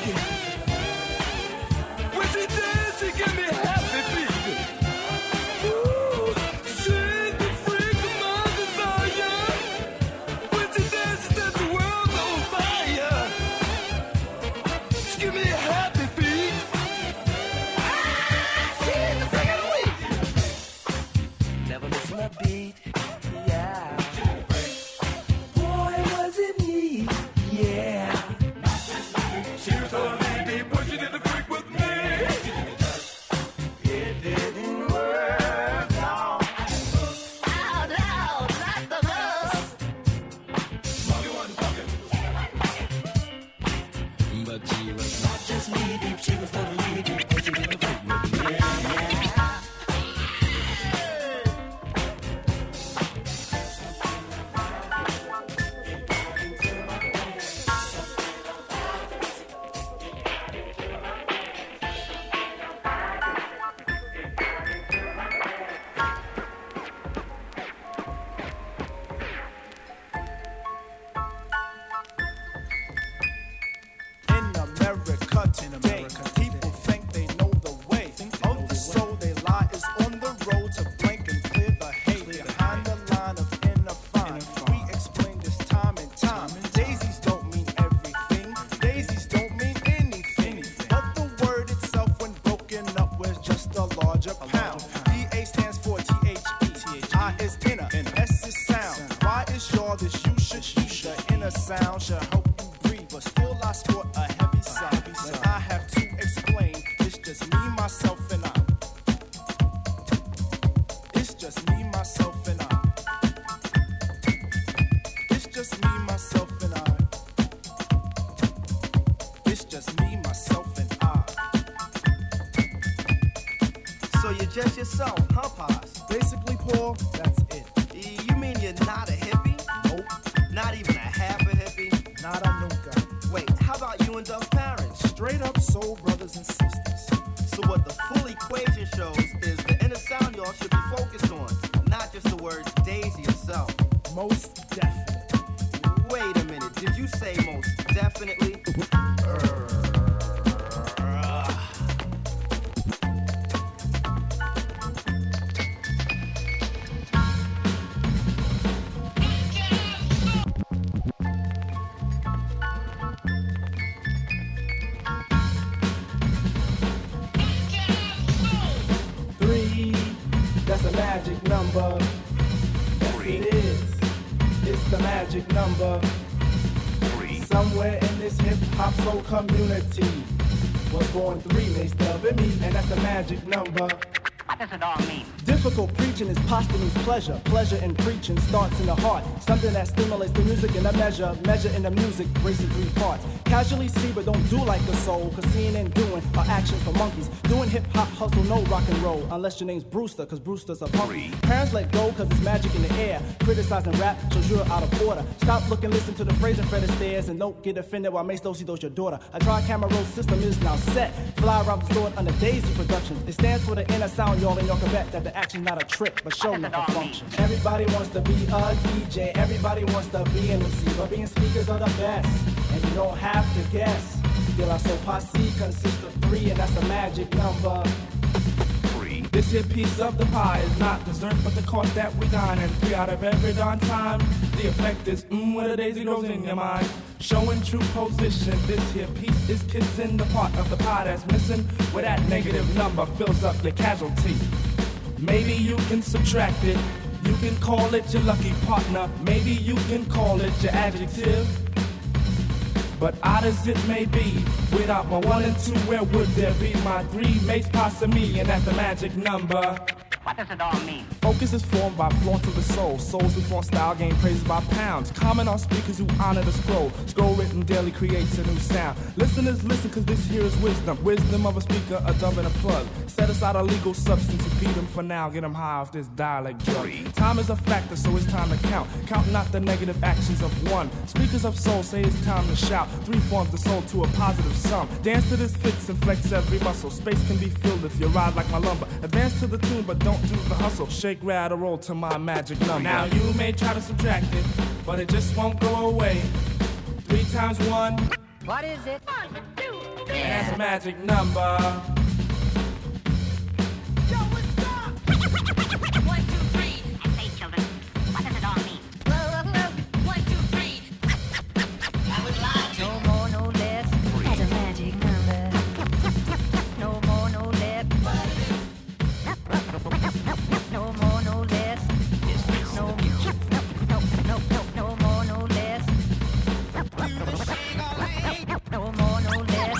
S5: When she does, she give me happy feet. Ooh, she's the freak of my desire. When she does, she set the world on fire. She give me happy feet.
S2: She's the freak of the week.
S17: Never missing a beat. Yeah. Boy, was it neat. Yeah.
S2: She was so deep when she did the freak with me. It didn't work, no. Out, out, not the bus. Monkey wasn't fucking.
S17: But she was not just knee deep, she was totally deep when she did the freak with me. Yeah.
S6: In America today, people think they know the way of the soul. They lie is on the road to blank and clear the hay behind the line of inner fine. We explain this time and time. Daisies don't mean everything. Daisies don't mean anything. But the word itself, when broken up, was just a larger pound. D A stands for T H E. I is inner, and S is sound. Y is your, this you should eat. The inner sound should help you breathe, but still I sport a heavy side. When I have to explain, it's just me, myself, and I. It's just me, myself, and I. It's just me, myself, and I. It's just me, myself, and I.
S19: So you're just yourself, huh, Pops?
S6: Basically, Paul, that's it.
S19: You mean you're not a hippie?
S6: Nope.
S19: Not even a half a hippie?
S6: Nada nunca.
S19: Wait, how about you and Dove's parents?
S6: Straight up soul brothers and sisters.
S19: So what the full equation shows is the inner sound y'all should be focused on, not just the words Daisy itself.
S6: Most definitely.
S19: Wait a minute, did you say most definitely?
S16: Three, that's a magic number. Yes, it is. It's the magic number. Three. Somewhere in this hip hop soul community was born three, Mace Dub and me, and that's a magic number.
S20: What does it all mean?
S16: Difficult preaching is posthumous pleasure. Pleasure in preaching starts in the heart. Something that stimulates the music in a measure. Measure in the music, breaks in three parts. Casually see but don't do like the soul. Cause seeing and doing are action for monkeys. Doing hip hop hustle, no rock and roll. Unless your name's Brewster, cause Brewster's a punk. Parents let go cause it's magic in the air. Criticizing rap shows you're out of order. Stop looking, listen to the phrase and Fred Astaire. And don't get offended while Mace Dosey does your daughter. A tri-camera roll system is now set. Fly around the store under Daisy Productions. It stands for the inner sound, y'all, and y'all can bet that the action's not a trick, but show enough a function. Everybody wants to be a D J, everybody wants to be an M C, but being speakers are the best, and you don't have to guess. De La Soul Posse consists of three, and that's a magic number. Three.
S9: This here piece of the pie is not dessert, but the cost that we dine. And three out of every darn time, the effect is mmm, where the daisy grows in your mind. Showing true position, this here piece is kissing the part of the pie that's missing, where that negative number fills up your casualty. Maybe you can subtract it, you can call it your lucky partner, maybe you can call it your adjective. But odd as it may be, without my one and two, where would there be my three mates past me, and that's the magic number.
S20: What does it all mean?
S9: Focus is formed by flaunt of the soul. Souls who flaunt style gain praises by pounds. Comment on speakers who honor the scroll. Scroll written daily creates a new sound. Listeners listen cause this here is wisdom. Wisdom of a speaker, a dove and a plug. Set aside a legal substance to feed them for now. Get them high off this dialect drug. Time is a factor so it's time to count. Count not the negative actions of one. Speakers of soul say it's time to shout. Three forms the soul to a positive sum. Dance to this fix and flex every muscle. Space can be filled if you ride like my lumber. Advance to the tune but don't do the hustle. Shake, rattle, roll to my magic number. Now you may try to subtract it, but it just won't go away. Three times one.
S20: What is it? One, two, three.
S9: And that's a magic number.
S20: Yo, what's up? One, two, three. I say, children, what does it all mean? One, two, three. I would lie to you. No more, no less. That's a magic number. No more, no less. No more, no less. No, no, no, no, no, no more, no less. No more, no less.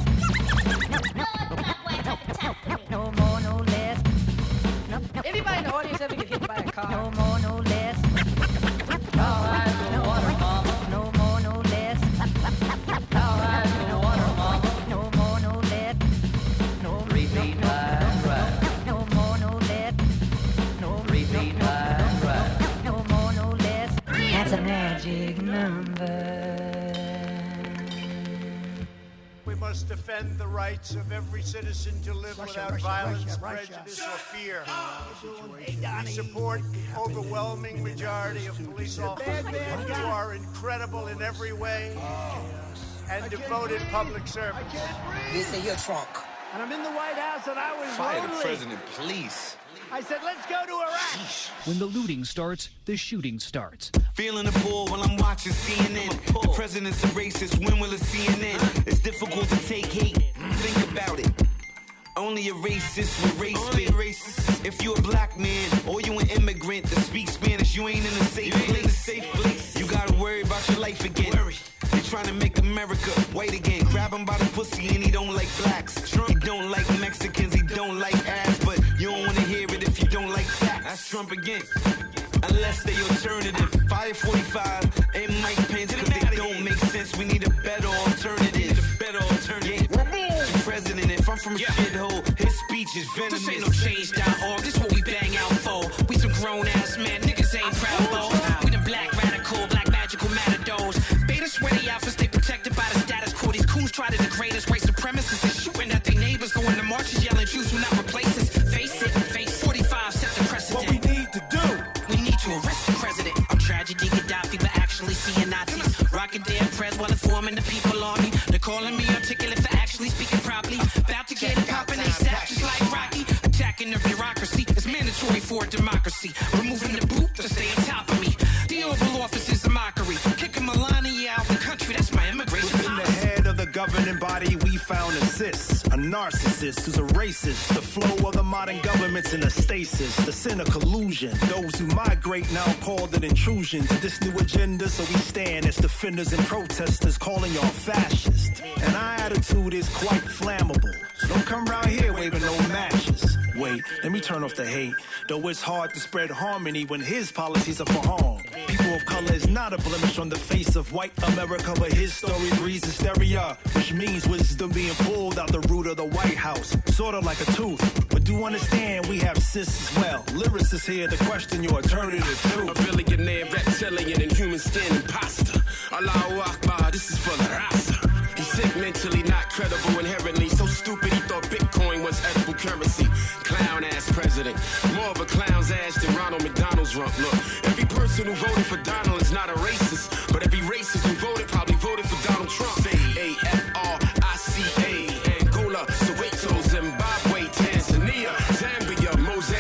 S20: No more, no less. Anybody in the audience ever get hit by a car? No more, no less. All right, no water, mama. No more, no less. All right, no water, mama. No more, no less. No repeat, right, right. No more, no less. No repeat, right, right. No more, no less. That's a magic number.
S21: We must defend the rights of every citizen to live
S13: Russia,
S21: without
S13: Russia,
S21: violence,
S13: Russia, Russia.
S21: prejudice, or fear. We support overwhelming majority of police officers who are incredible in every way and devoted public servants.
S22: This is your trunk.
S21: And I'm in the White House and I was
S22: Fire the
S21: lonely.
S22: president, please.
S21: I said, let's go to Iraq.
S23: When the looting starts, the shooting starts.
S24: Feeling the pull while I'm watching C N N. The president's a racist, when will it C N N? It's difficult to take hate, think about it. Only a racist with race spit. Racist. If you a black man or you an immigrant that speaks Spanish, you ain't in a safe place. In a safe place. You gotta worry about your life again. They're trying to make America white again. Grab him by the pussy and he don't like blacks. Trump, he don't like Mexicans, he don't like ass. But you don't wanna hear it if you don't like facts. That's Trump again. Unless they alternative. Fire forty-five and Mike Pence, cause they don't make sense. We need a better alternative. A better alternative. Yeah. The president, if I'm from a shithole, his speech is venomous.
S25: This ain't no change dot org, this what we bang out for. We some grown ass men, niggas ain't proud though. We the black radical, black magical matadors. Beta sweaty outfits, stay protected by the status quo. These coons try to degrade us, white supremacists and shooting at their neighbors, going to marches, yelling Jews will not replace us. Face it, face forty-five set the precedent.
S21: What we need to do.
S25: We need to arrest the president. I'm tragedy Gaddafi, but actually seeing Nazis. Rocking their press while informing the people on me. They're calling me articulate for actually speaking properly. About to get it poppin', they sap just like Rocky. Attacking the bureaucracy is mandatory for a democracy. Removing the boot to stay on top of me. The Oval Office is a mockery. Kicking Melania out the country, that's my immigration
S6: Within the head of the governing body, we found a cis, a narcissist who's a racist. The flow of the modern government's in a stasis. The sin of collusion. Those who migrate now called it intrusion to this new agenda. So we stand as defenders and protesters, calling y'all fascist. And our attitude is quite flammable. So don't come around here waving no matches. Wait, let me turn off the hate. Though it's hard to spread harmony when his policies are for harm. People of color is not a blemish on the face of white America, but his story breeds hysteria, which means wisdom being pulled out the root of the White House, sort of like a tooth. But do understand we have cis as well. Lyricists here to question your alternative truth.
S26: A billionaire, reptilian, and human skin imposter. Allahu Akbar, this is for the Rasta. He's sick mentally, not credible inherently. So stupid he thought Bitcoin was edible currency. Clown ass president. More of a clown's ass than Ronald McDonald's rump. Look, every person who voted for Donald is not a racist. But every racist who voted probably voted for Donald Trump. A F R I C A. Angola, Soweto, Zimbabwe, Tanzania, Zambia, Mozambique.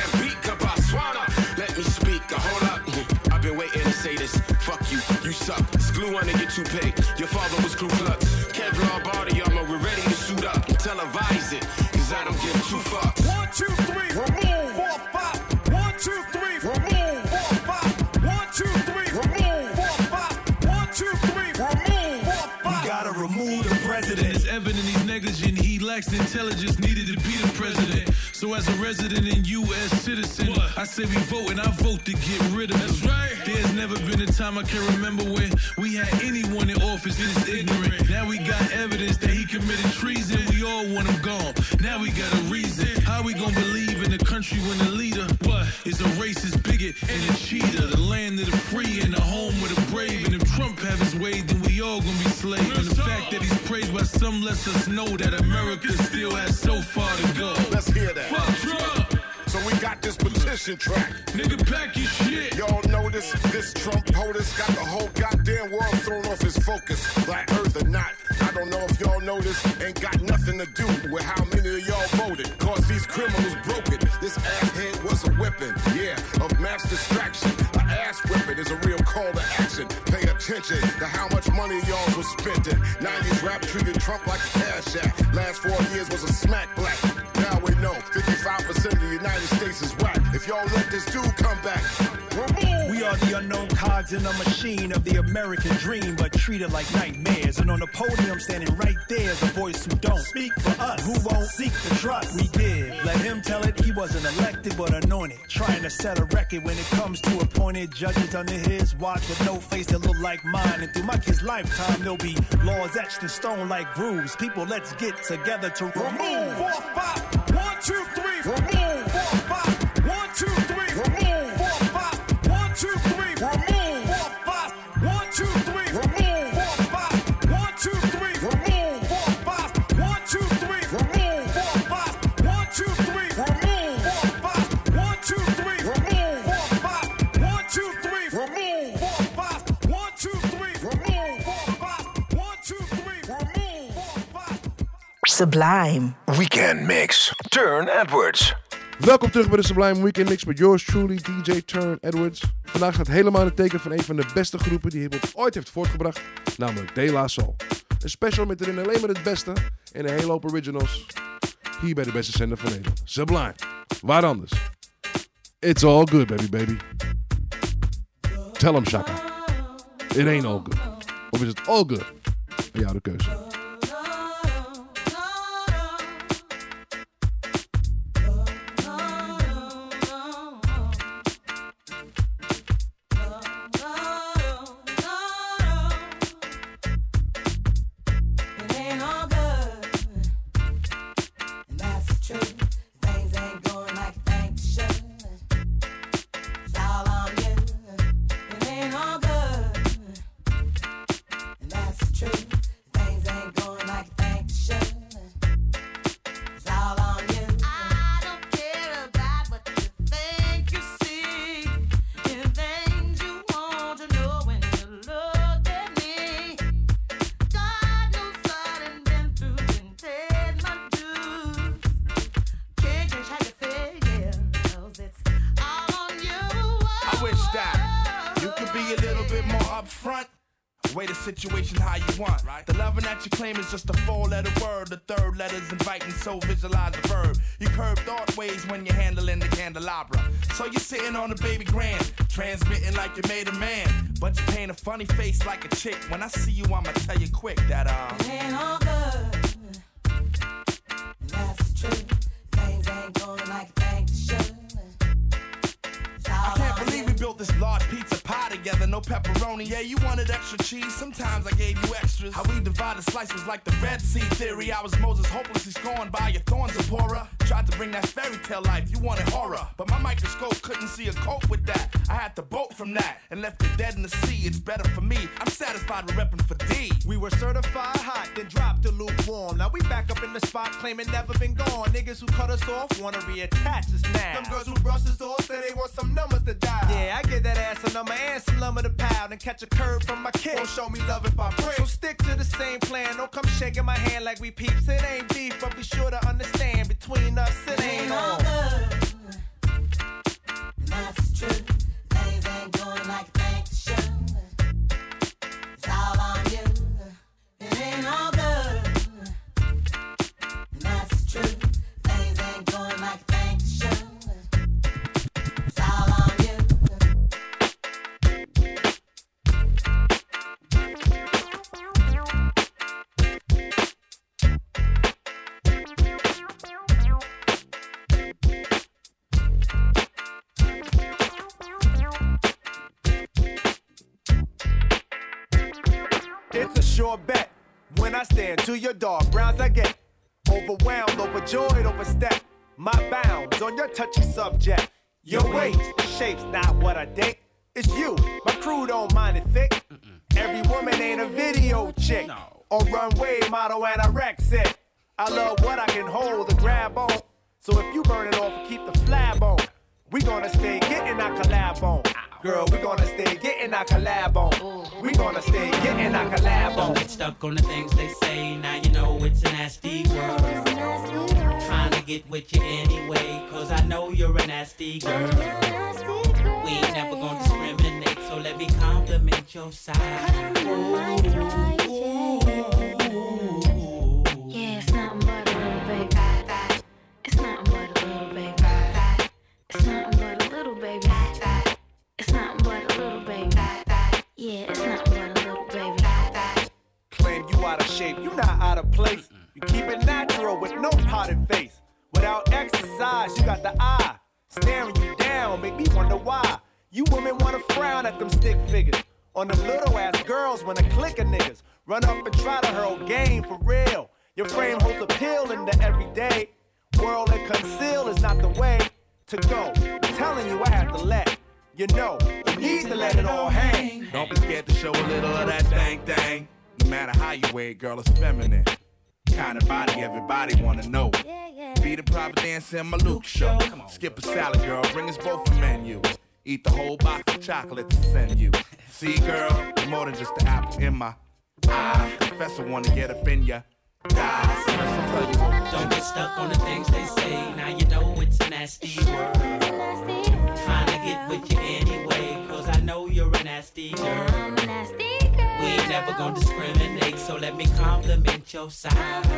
S26: suck. It's glue under your toupee. Your father was Ku Klux. Kevlar body armor, we're ready to suit up. Televise it, cause I don't give two fucks.
S6: One, two, three, remove. Four, five. One, two, three, remove. Four, five. One, two, three, remove. Four, five. One, two, three, remove. Four, five.
S1: We gotta remove the president.
S7: It's evident he's negligent. He lacks intelligence needed to be the president. So as a resident and U S citizen, what? I say we vote and I vote to get rid of him. That's right. There's never been a time I can remember when we had anyone in office this ignorant. Now we got evidence that he committed treason. We all want him gone. Now we got a reason. How we gonna believe in a country when the leader what is a racist bigot and a cheater? The land of the free and the home of the brave. And if Trump have his way, then we all gonna be slaves. And the fact that he's praised by some lets us know that America still has so far to go.
S14: Let's hear that.
S7: Fuck Trump.
S14: So we got this petition track.
S7: Nigga, pack your shit.
S14: Y'all notice this Trump POTUS got the whole goddamn world thrown off his focus. Black Earth or not, I don't know if y'all notice. Ain't got nothing to do with how many of y'all voted. Cause these criminals broke it. This asshead was a weapon, yeah, of mass distraction. An ass whipping is a real call to action. Pay attention to how much money y'all was spending. nineties rap treated Trump like a cash app. Last four years was a smack black. Now we know fifty-five percent of the United States is whack. If y'all let this dude come back, remove.
S6: We are the unknown cogs in a machine of the American dream, but treated like nightmares. And on the podium, standing right there, the voice who don't speak for us, who won't seek the trust we give. Let him tell it, he wasn't elected but anointed, trying to set a record when it comes to appointed judges under his watch with no face that look like mine. And through my kid's lifetime, there'll be laws etched in stone like grooves. People, let's get together to remove. Four, five. One, two, three, remove. Four, five. One, two, three, remove. Four, five. One, two, three, remove. Four, five. One, two, three, remove. Four, five. One, two, three, remove. Four, five. One, two, three, remove. Four, five. One, two, three, remove. Four, five. One, two, three, remove. Four, five. One, two, three, remove. Four, five. One, two, three, remove. Four, five. One, two, three, remove. Four, five.
S3: Sublime Weekend Mix. Turn Edwards.
S4: Welkom terug bij de Sublime Weekend Mix met yours truly, D J Turn Edwards. Vandaag staat helemaal in het teken van een van de beste groepen die hiphop ooit heeft voortgebracht, namelijk De La Soul. Een special met erin alleen maar het beste en een hele hoop originals. Hier bij de beste zender van Nederland. Sublime. Waar anders? It's all good, baby, baby. Tell him, Shaka. It ain't all good. Of is het all good? Bij jou de keuze.
S5: Situation how you want, right? The loving that you claim is just a four-letter word. The third letter's inviting, so visualize the verb. You curve thought ways when you're handling the candelabra. So you're sitting on the baby grand, transmitting like you made a man, but you paint a funny face like a chick. When I see you, I'ma tell you quick that uh.
S8: It ain't all good, and that's the truth. Things ain't going like you think they should.
S5: I can't believe we built this large pizza pie together, no pepperoni. Yeah, you wanted extra cheese, sometimes I gave you extras. How we divided slice was like the Red Sea theory. I was Moses hopelessly scorned by your thorns, Zipporah. Tried to bring that fairy tale life, you wanted horror, but my microscope couldn't see a cope with that. I had to bolt from that and left it dead in the sea. It's better for me, I'm satisfied with repping for D.
S6: We were certified hot, then dropped the lukewarm. Now we back up in the spot, claiming never been gone. Niggas who cut us off wanna reattach us now.
S5: Them girls who brush us off say they want some numbers to dial.
S6: Yeah, I get that ass a number and some lumber to pound and catch a curve from my kid.
S5: Won't show me love if I break.
S6: So stick to the same plan. Don't come shaking my hand like we peeps. It ain't beef, but be sure to understand between us it ain't all
S8: good. And that's the truth. Things ain't going like you think they should.
S6: sure bet. When I stand to your dog, Browns I get. Overwhelmed, overjoyed, overstep my bounds on your touchy subject. Your weight, shape's not what I date. It's you, my crew don't mind it thick. Every woman ain't a video chick or runway model anorexic. I love what I can hold and grab on. So if you burn it off and keep the flab on, we gonna stay getting our collab on. Girl, we gonna stay getting our collab on. We gonna stay getting our collab on.
S2: Don't get stuck on the things they say. Now you know it's a nasty world. Trying to get with you anyway, cause I know you're a nasty girl. We ain't never gonna discriminate, so let me compliment your side.
S10: Yeah, it's nothing but a little baby. It's nothing but a little baby. It's nothing but a little baby. It's nothing but a little baby. Yeah, it's nothing but a little baby.
S6: Claim you out of shape, you not out of place. You keep it natural with no potted face. Without exercise, you got the eye staring you down, make me wonder why. You women wanna frown at them stick figures. On them little ass girls when a clique of niggas run up and try to hurl game for real. Your frame holds appeal in the everyday. World and conceal is not the way to go. I'm telling you I have to let you know. You need to let it all hang.
S5: Don't be scared to show a little of that thang thang. No matter how you wear it, girl, it's feminine. Kind of body everybody wanna know. Be the private dancer in my Luke show. Skip a salad, girl, bring us both a menu. Eat the whole box of chocolate to send you. See, girl, you're more than just the apple in my eye. Professor wanna get up in ya. Die. So let's tell you what.
S2: Don't get stuck on the things they say. Now you know it's a nasty world. Trying to get with you anyway, cause I know you're a nasty girl. We ain't never gonna discriminate, so let me compliment your side.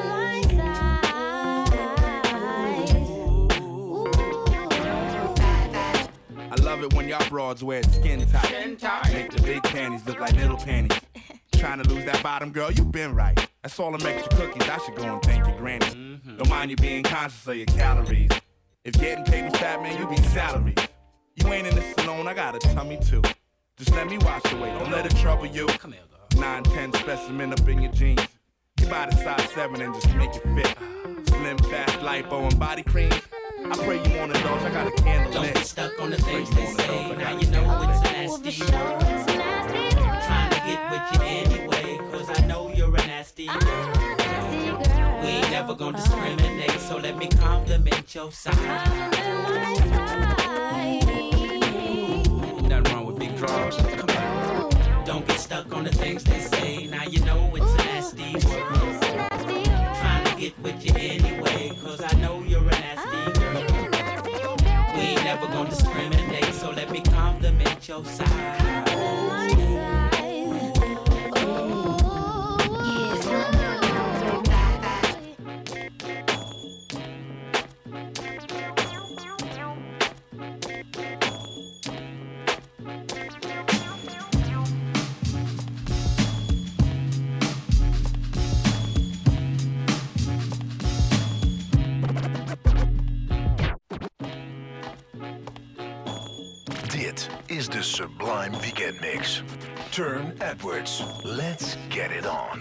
S5: I love it when y'all broads wear it skin tight. Skin tight. Make the big panties look like little panties. Trying to lose that bottom, girl, you been right. That's all them extra cookies, I should go and thank your granny. Mm-hmm. Don't mind you being conscious of your calories. If getting paid was fat, man, you be salaries. You ain't in this alone, I got a tummy too. Just let me wash away, don't let it trouble you. Come here, girl. nine ten specimen up in your jeans. You buy the size seven and just make it fit. Slim, fast, lipo, and body cream. I pray you want to indulge, I got a candle
S2: Don't
S5: lit.
S2: get stuck on the things they say. Now you know it's a nasty world. Trying to get with you anyway, cause I know you're a nasty girl. We ain't never gonna discriminate, so let me compliment your side. Nothing wrong with big draws. Come on. Don't get stuck on the things they say. Now you know it's a nasty world. Trying to get with you anyway, cause I know you're a nasty girl. We ain't never gonna discriminate, so let me compliment your side.
S3: Dit is de Sublime Weekend Mix. Turn Edwards. Let's get it on.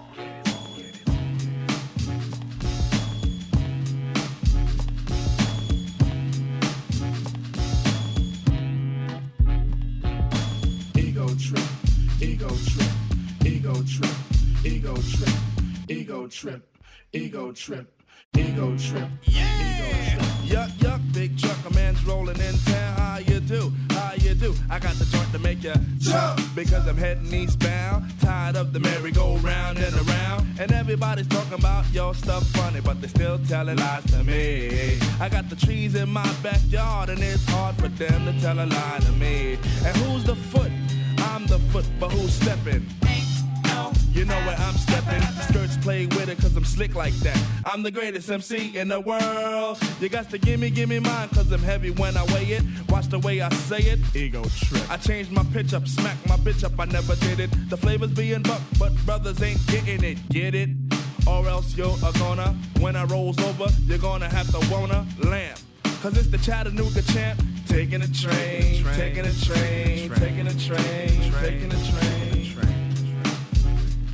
S9: Ego trip, ego trip, ego trip, ego trip, ego trip, ego trip, ego trip.
S5: Yeah! Yuck, yuck, big truck, a man's rolling in town. How you do? How you do? I got the joint to make you jump because I'm heading eastbound. Tired of the merry-go-round and around. And everybody's talking about your stuff funny, but they still telling lies to me. I got the trees in my backyard, and it's hard for them to tell a lie to me. And who's the foot? I'm the foot, but who's stepping? You know where I'm stepping. Skirts play with it cause I'm slick like that. I'm the greatest M C in the world. You got to gimme, gimme mine cause I'm heavy when I weigh it. Watch the way I say it. Ego trip. I changed my pitch up, smack my bitch up, I never did it. The flavor's being bucked, but brothers ain't getting it. Get it? Or else you're a gonna. When I rolls over, you're gonna have to wanna lamp. Cause it's the Chattanooga champ. Taking a train, taking a train, taking a train, taking a train.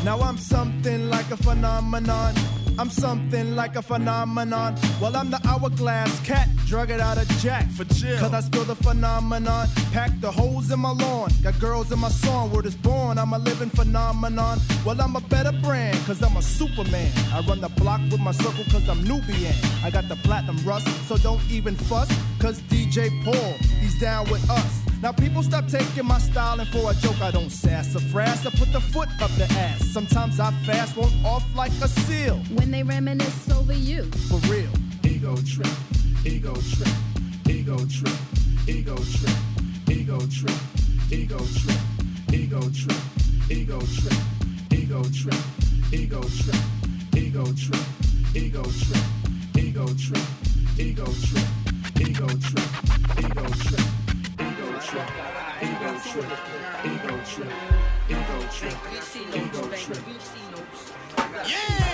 S16: Now I'm something like a phenomenon. I'm something like a phenomenon. Well, I'm the hourglass cat, drug it out of Jack for chill. Cause I spill the phenomenon, pack the holes in my lawn. Got girls in my song, word is born, I'm a living phenomenon. Well, I'm a better brand, cause I'm a Superman. I run the block with my circle cause I'm Nubian. I got the platinum rust, so don't even fuss. Cause D J Paul, he's down with us. Now people stop taking my style and for a joke I don't sass or frass. I put the foot up the ass. Sometimes I fast, won't off like a seal.
S11: When they reminisce over you.
S16: For real.
S9: Ego trip, ego trip, ego trip, ego trip, ego trip, ego trip, ego trip, ego trip, ego trip, ego trip, ego trip, ego trip, ego trip, ego trip, ego trip, ego trip. Ego trip, ego trip, ego trip, ego trip, ego trip. Yeah!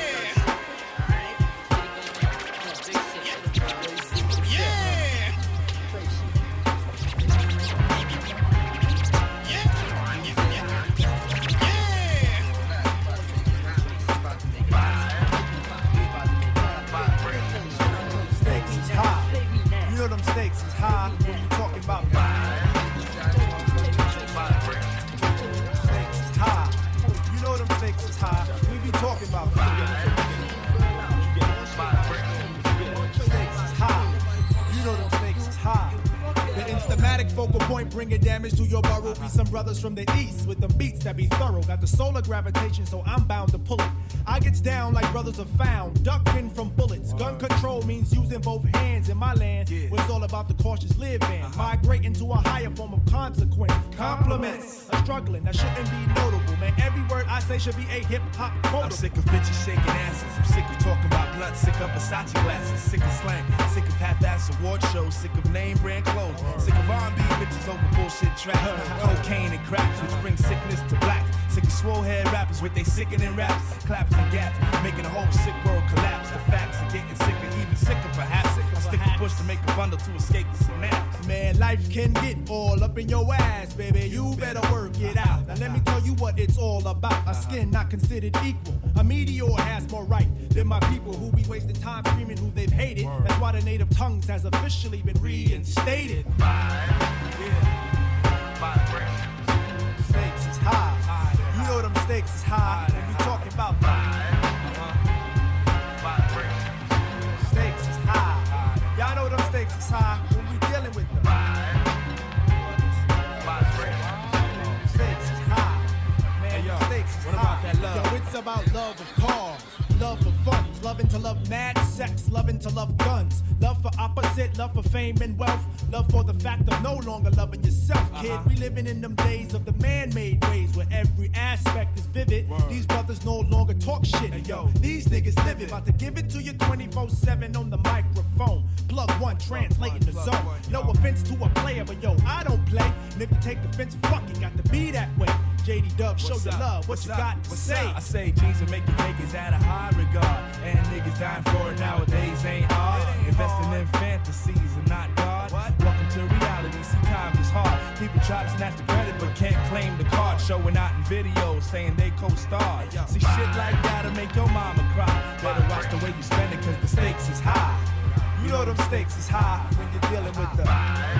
S16: Stakes is high. You know them stakes is high when you talking about we be talking about stakes is high. You know them stakes is high. The instamatic focal point bringing damage to your burrow. Be some brothers from the east with them beats that be thorough. Got the solar gravitation, so I'm bound to pull it. I gets down like brothers are found, ducking from bullets. Gun control means using both hands in my land. Where it's all about the cautious living, migrating to a higher form of consequence. Compliments are struggling, that shouldn't be notable, man. Every word I say should be a hip-hop quote.
S12: I'm sick of bitches shaking asses. I'm sick of talking about blunt. Sick of Versace glasses. Sick of slang. Sick of half-ass award shows. Sick of name brand clothes. Sick of R and B bitches over bullshit tracks. Cocaine and cracks, which bring sickness to black. Sick of swole head rappers with they sickening raps. Claps and gaps, making the whole sick world collapse. The facts are getting sicker, even sicker perhaps. I stick a push to make a bundle to escape the synapse.
S16: Man, life can get all up in your ass, baby. You better work it out. Now let me tell you what it's all about. A skin not considered equal. A meteor has more right than my people who be wasting time screaming who they've hated. That's why the native tongues has officially been reinstated. Stakes is high. You know them stakes is high. When we talking about stakes is high. Y'all know them stakes is high when we dealing with them. Stakes is high. Man, yo, stakes is
S12: what
S16: high.
S12: about that love?
S16: Yo, it's about love of cars, love of funds, loving to love mad sex, loving to love guns, love for opposite, love for fame and wealth, love for the fact of no longer loving yourself, kid. Uh-huh. We living in them days of the man-made ways where every aspect is vivid. Word. These brothers no longer talk shit. Hey, yo, these niggas live it. About to give it to you twenty-four seven on the microphone. Plug one, translating the zone. One, no offense to a player, but yo, I don't play. And if you take offense, fuck it, got to be that way. J D Dub, show your love, what What's you up? got to What's say?
S12: Up? I say jeans and make your niggas out of high regard. And niggas dying for it nowadays ain't hard. Investing in fantasies and not God. What? Welcome to reality, see times is hard. People try to snatch the credit but can't claim the card. Showing out in videos saying they co-star. See shit like that'll make your mama cry. Better watch the way you spend it cause the stakes is high.
S16: You know them stakes is high when you're dealing with the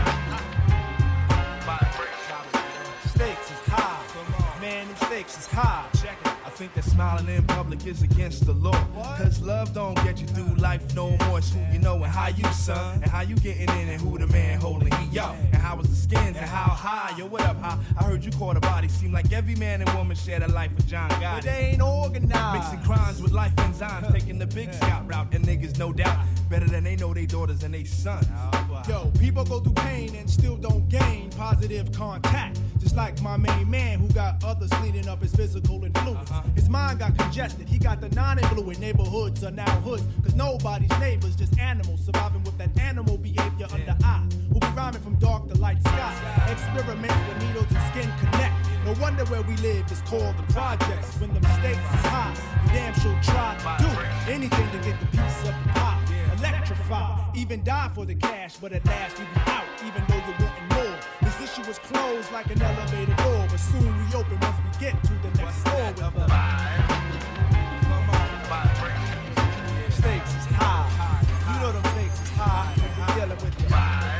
S16: stakes is high. Man, them stakes is high. Check it.
S12: I think that smiling in public is against the law. Cause love don't get you through life no more. It's who you know and how you son. And how you getting in and who the man holding heat. Yo, and how was the skins and how high. Yo, what up, how? I heard you caught a body. Seem like every man and woman shared a life with John Gotti.
S16: But they ain't organized.
S12: Mixing crimes with life enzymes. Taking the big scout route. And niggas no doubt better than they know they daughters and they sons.
S16: Yo, people go through pain and still don't gain positive contact. Just like my main man who got others cleaning up his physical influence. Uh-huh. His mind got congested, he got the non-influent. Neighborhoods are now hoods, cause nobody's neighbors, just animals surviving with that animal behavior yeah. under eye. We'll be rhyming from dark to light sky. Experiments where needles and skin connect. No wonder where we live is called the projects. When the stakes is high, you damn sure try to do anything to get the piece of the pie. Electrify, even die for the cash, but at last we be out, even though you're wanting more. This issue
S6: you was closed like an elevator door, but soon we open once we get to the next floor with the vibe. Come on, vibe. Stakes is high. You know them stakes is high. We're dealing with the vibe.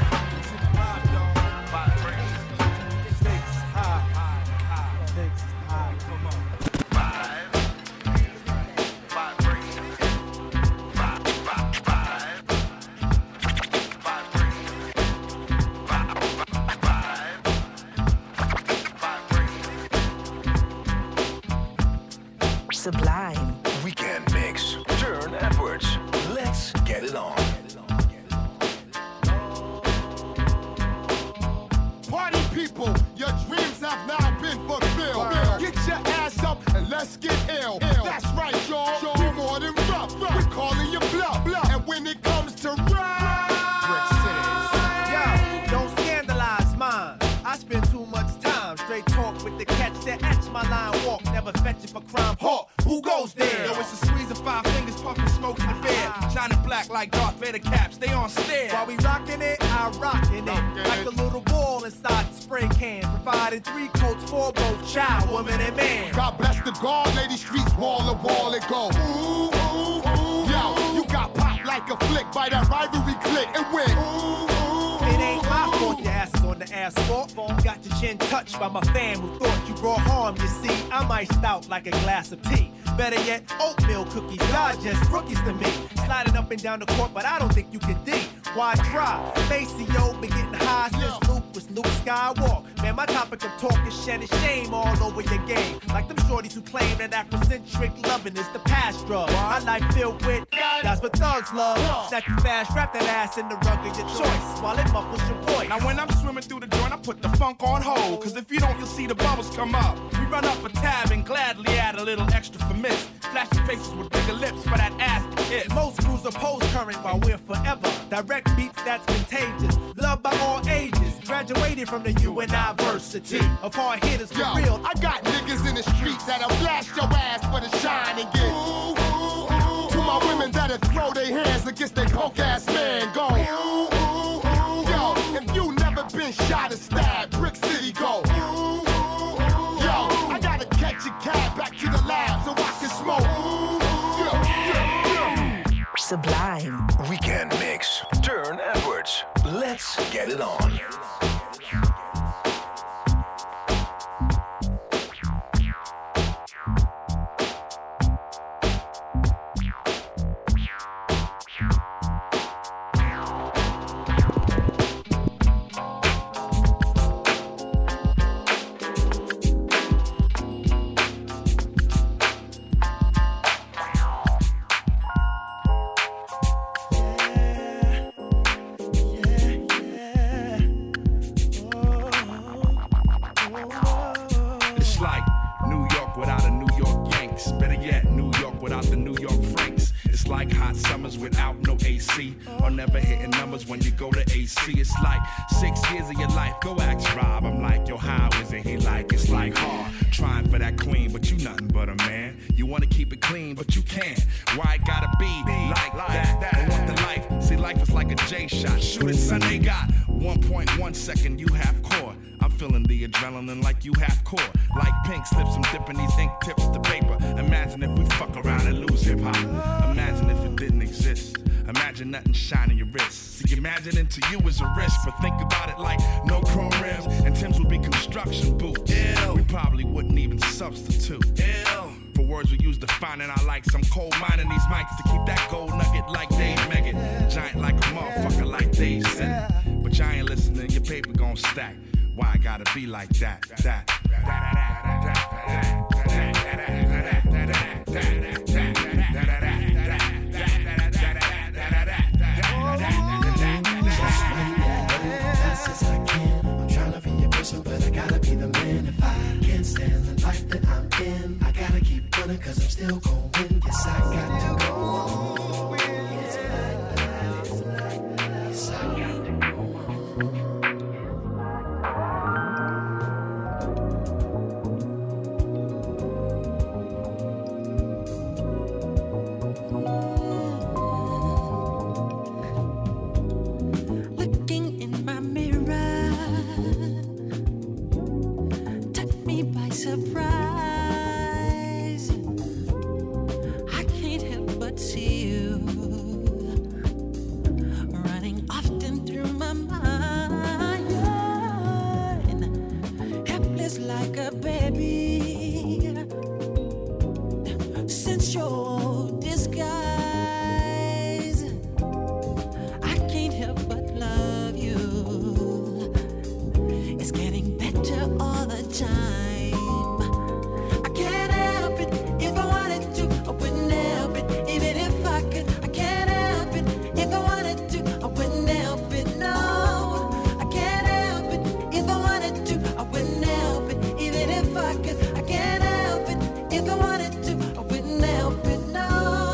S6: Stakes is high. Stakes is high. Come on.
S3: Sublime Weekend Mix. Turn Edwards. Let's get it on.
S14: Party people, your dreams have now been fulfilled. Get your ass up and let's get ill. Ill. That's right, y'all. We more than rough. We're calling you bluff. bluff. And when it comes to rap,
S21: Yo, don't scandalize mine. I spend too much time straight talk with the catch that etch my line walk. Never fetch it for crime. Hawk, who goes there?
S12: Yo, it's a squeeze of five fingers, puffing smoke in the bed. Shining black like Darth Vader caps, they on stare.
S21: While we rockin' it, I rockin' it. Like a little ball inside the spray can. Providing three coats for both child, woman, and man.
S14: God bless the guard, lady streets, wall to wall it go. Ooh, ooh, ooh. Yo, you got popped like a flick by that rivalry click and win. Ooh, ooh,
S21: it ain't my fault your ass is on the asphalt. Got your chin touched by my fam who thought you brought harm. You see, I'm iced out like a glass of tea. Better yet, oatmeal cookies, y'all just rookies to me. Sliding up and down the court, but I don't think you can D. Why try? Maceo been getting high since Luke was Luke Skywalker. Man, my topic of talk is shedding shame all over your game. Like them shorties who claim that Afrocentric loving is the past drug. My life filled with, that's what thugs love. Snatch you fast, wrap that ass in the rug of your choice while it muffles your voice.
S12: Now when I'm swimming through the joint, I put the funk on hold. Cause if you don't, you'll see the bubbles come up. We run up a tab and gladly add a little extra for miss. Flashing faces with bigger lips for that ass to kiss.
S21: Most crews oppose current while we're forever. Direct beats that's contagious. Loved by all ages. Graduated from the U N I varsity of hard hitters for
S14: Yo,
S21: real.
S14: I got niggas in the streets that'll blast your ass for the shine and get ooh, ooh, ooh. To my women that'll throw their hands against their coke ass man, go ooh, ooh, ooh. Yo, if you never been shot or stabbed, Brick City go ooh, ooh, ooh. Yo, I gotta catch a cab back to the lab so I can smoke ooh, ooh. Yeah, yeah, yeah.
S3: Sublime Weekend Mix. Turn Edwards. Let's get it on.
S12: It's like six years of your life. Go ask Rob. I'm like, yo, how is it? He like, it's like hard. Trying for that queen, but you nothing but a man. You wanna keep it clean, but you can't. Why it gotta be like that? I want the life. See, life is like a J shot. Shoot it, son. They got one point one second. You half court. I'm feeling the adrenaline like you half court. Like pink slips, I'm dipping these ink tips to paper. Imagine if we fuck around and lose hip hop. Imagine if it didn't exist. Imagine nothing shining your wrist. See, imagining to you is a risk, but think about it like no chrome rims, and Tim's would be construction boots. Ew. We probably wouldn't even substitute. Ew. For words we use defining our likes, I'm cold mining these mics to keep that gold nugget like Dave Meggett. Giant like a motherfucker like Dave said. But you ain't listening, your paper gon' stack. Why I gotta be like that? That.
S13: But I gotta be the man. If I can't stand the life that I'm in, I gotta keep running cause I'm still gon' win. Yes, I got to go on. Yes, I got to go on.
S8: Looking in my mirror, surprise. I can't help but see you running often through my mind, helpless like a baby. Since your disguise, I can't help but love you. It's getting better all the time. I can't help it. If I wanted to, I wouldn't help it. Even if I could, I can't help it. If I wanted to, I wouldn't help it. No, I can't help it. If I wanted to, I wouldn't help it. Even if I could, I can't help it. If I wanted to, I wouldn't help it. No.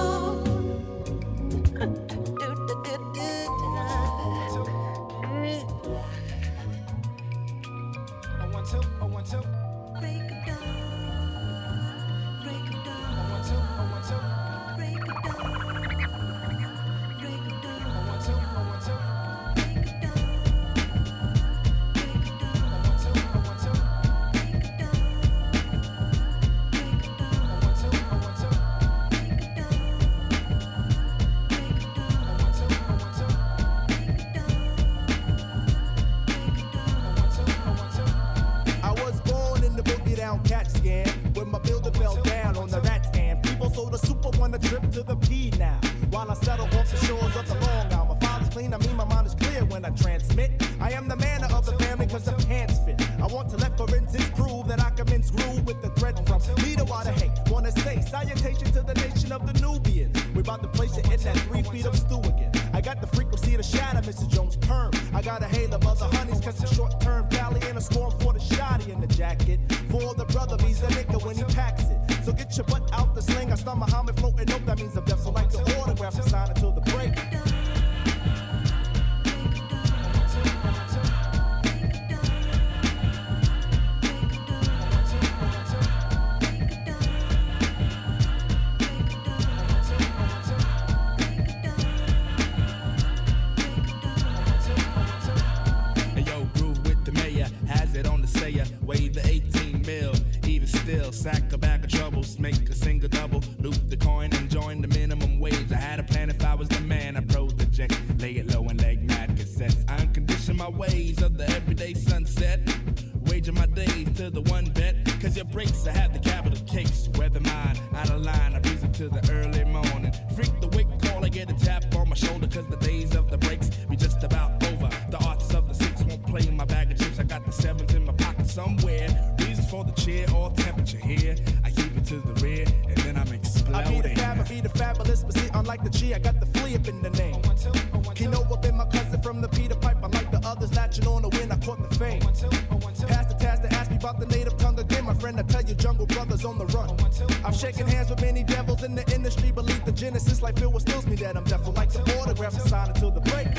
S6: I was born in the boogie down cat scan when my builder fell down on the rat scan. People sold a super one a trip to the P now. While I settle off the shores of the Long Island. My father's clean, I mean my mind is clear when I transmit. I am the man of the family cause the pants fit. I want to let forensics prove that I can mince groove with the thread from Lido out of hate. Wanna say salutation to the nation of the Nubians. We about to place it in that three feet of stew again. I got the frequency to shatter Missus Jones' perm. I got a hail of other honeys cause the short term valley and a storm for the shotty in the jacket. For the brother, he's a nigga when he packs it. So get your butt out the sling. I start Muhammad floating up, that means I'm deaf. So like the autograph and sign until the break.
S12: Hey, yo, groove with the mayor, has it on the sayer. Wave the eighteen mil, even still, sack a bag of troubles, make a single double, loop the coin and join the minimum wage. I had a plan if I was the man, I project, lay it low and leg mad cassettes. I uncondition my ways of the everyday sunset, wager my days to the one bet, cause your breaks I have the capital case. Weather mine, out of line, I breeze to the early morning. Freak the wake call, I get a tap on my shoulder, cause the days of the breaks be just about over. The arts of the six won't play in my bag of chips, I got the sevens in my pocket somewhere. Reasons for the cheer or temperature here, I keep it to the rear, and then I'm exploding.
S6: I be the fab, I be the fabulous, but see, unlike the G, I got the flea up in the name. Keno up in my cousin from the Peter Pipe, unlike the others, latching on the wind, I caught the fame. Pass the task to ask me about the native tongue again, my friend, I tell you, Jungle Brothers on the run. I've shaken hands with many devils in the industry, believe the genesis, like Phil, what stills me that I'm deaf, like the autograph and sign until the break.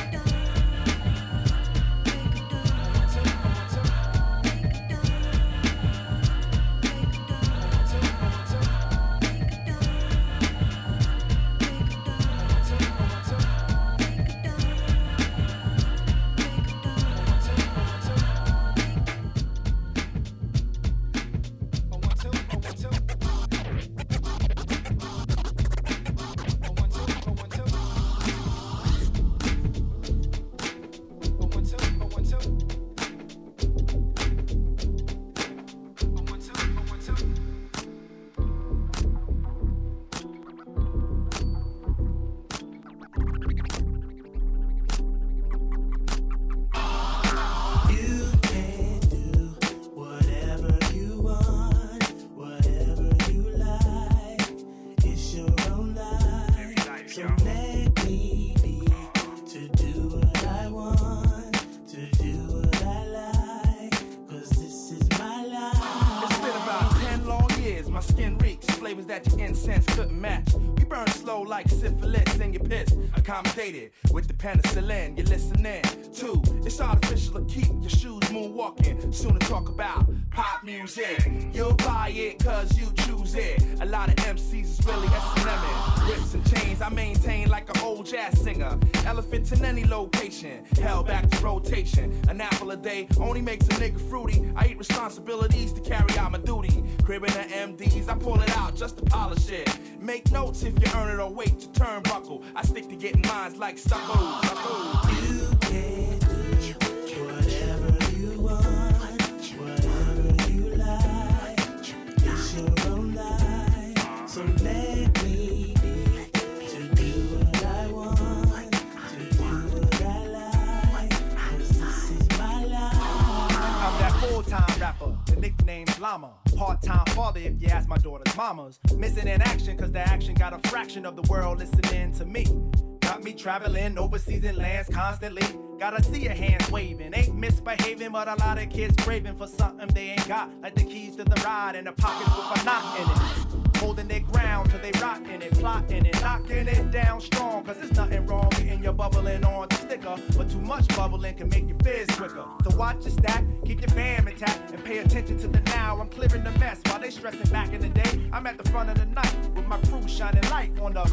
S12: With the penicillin, you're listening. Two, it's artificial to keep your shoes moonwalk. walking. Soon to talk about pop music. You'll buy it cause you choose it. A lot of M Cs is really S and M. Whips and chains I maintain like an old jazz singer. Elephants in any location, held back to rotation. An apple a day only makes a nigga fruity. I eat responsibilities to carry out my duty. Cribbing the M Ds, I pull it out just to polish it. Make notes if you earn it or wait your turnbuckle. I stick to getting mines like stucco. stucco.
S13: You can do whatever you want, whatever you like. It's your own life, so let me be to do what I want, to do what I like. 'Cause this is my life.
S6: I'm that full-time rapper, the nickname's Llama. Part-time father if you ask my daughter's mamas. Missing in action cause the action got a fraction of the world listening to me. Got me traveling overseas in lands constantly. Gotta see your hands waving. Ain't misbehaving, but a lot of kids craving for something they ain't got. Like the keys to the ride and the pockets with a knot in it. Holding their ground till they rotting it, plotting it, knocking it down strong. Cause there's nothing wrong getting your bubbling on the sticker. But too much bubbling can make your fizz quicker. So watch your stack, keep your fam intact, and pay attention to the now. I'm clearing the mess while they stressing back in the day. I'm at the front of the night with my crew shining light on the.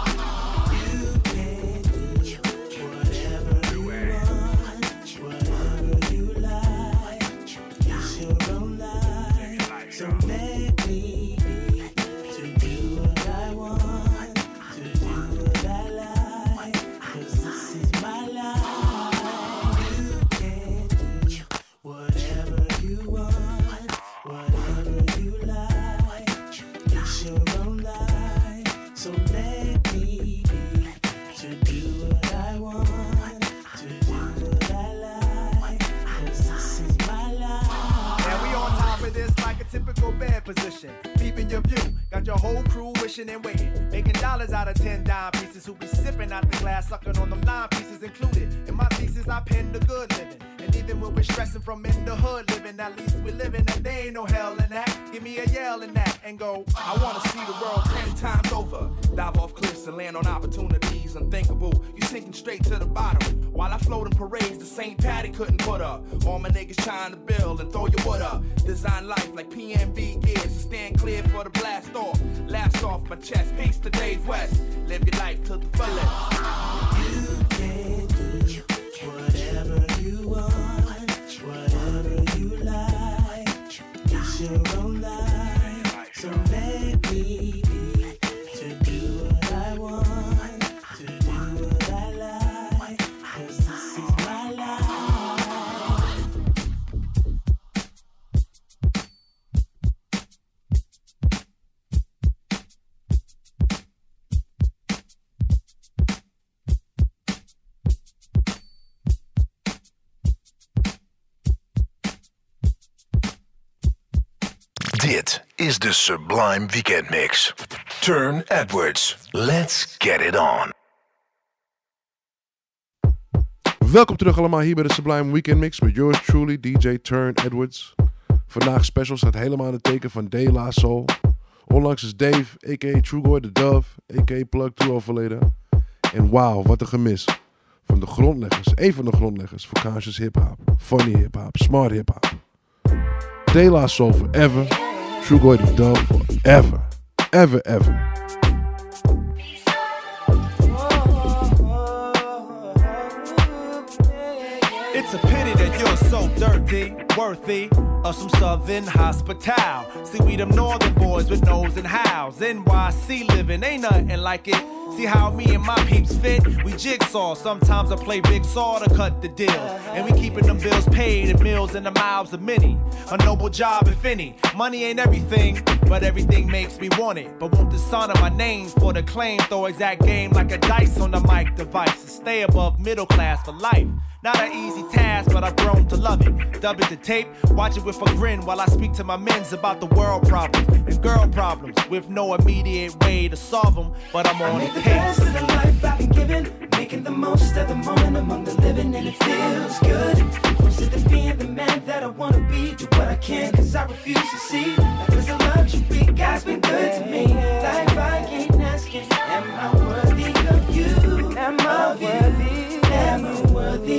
S13: You can do whatever you want, whatever you like. It's your own life, so let me be to do what I want, to do what I like. 'Cause this is my life. You can do whatever you want, whatever you like. It's your own life, so let me be to do what I want, to do what I like. 'Cause this is my life.
S6: And we on top of this like a typical bed position. Peeping your view, got your whole crew wishing and waiting. Making dollars out of ten dime pieces who be sipping out the glass, sucking on them nine pieces included. In my thesis, I pen the good living. And even when we're stressing from in the hood living, at least we're living and there ain't no hell in that. Give me a yell in that and go,
S12: I wanna see the world ten times over. Dive off cliffs and land on opportunities unthinkable. You sinking straight to the bottom. While I float in parades the Saint Patty couldn't put up. All my niggas trying to build and throw your wood up. Design life like P N B gears. So stand clear for the blast off. Last off my chest. Peace to Dave West. Live your life to the fullest.
S13: You can do whatever you want, whatever you like. It's your own life, so let me be to do what I want, to do what I like. 'Cause this is my life.
S3: Dit is de Sublime Weekend Mix. Turn Edwards. Let's get it on.
S4: Welkom terug allemaal hier bij de Sublime Weekend Mix met yours truly, D J Turn Edwards. Vandaag special staat helemaal in het teken van De La Soul. Onlangs is Dave, a k a. Trugoy the Dove, a k a. Plug two overleden. En wauw, wat een gemis. Van de grondleggers, een van de grondleggers voor conscious hip-hop, funny hip-hop, smart hip-hop. De La Soul forever, Trugoy the Dove forever, ever, ever.
S6: it's a pity that you're so dirty, worthy of some southern hospital. See, we them northern boys with nose and howls. N Y C living, ain't nothing like it. See how me and my peeps fit? We jigsaw. Sometimes I play big saw to cut the deals. And we keeping them bills paid and meals in the mouths of many. A noble job, if any. Money ain't everything, but everything makes me want it. But won't the son of my name for the claim throw exact game like a dice on the mic device and stay above middle class for life. Not an easy task, but I've grown to love it. Dub it to tape, watch it with a grin while I speak to my men's about the world problems and girl problems with no immediate way to solve them. But I'm on
S13: I
S6: the
S13: make the
S6: case.
S13: best of the life I've been given, making the most of the moment among the living, and it feels good. Closer to being the man that I wanna be. Do what I can, cause I refuse to see. Life is a luxury, God's been good to me. Life I ain't asking, am I worthy of you? Am I worthy? Am I worthy of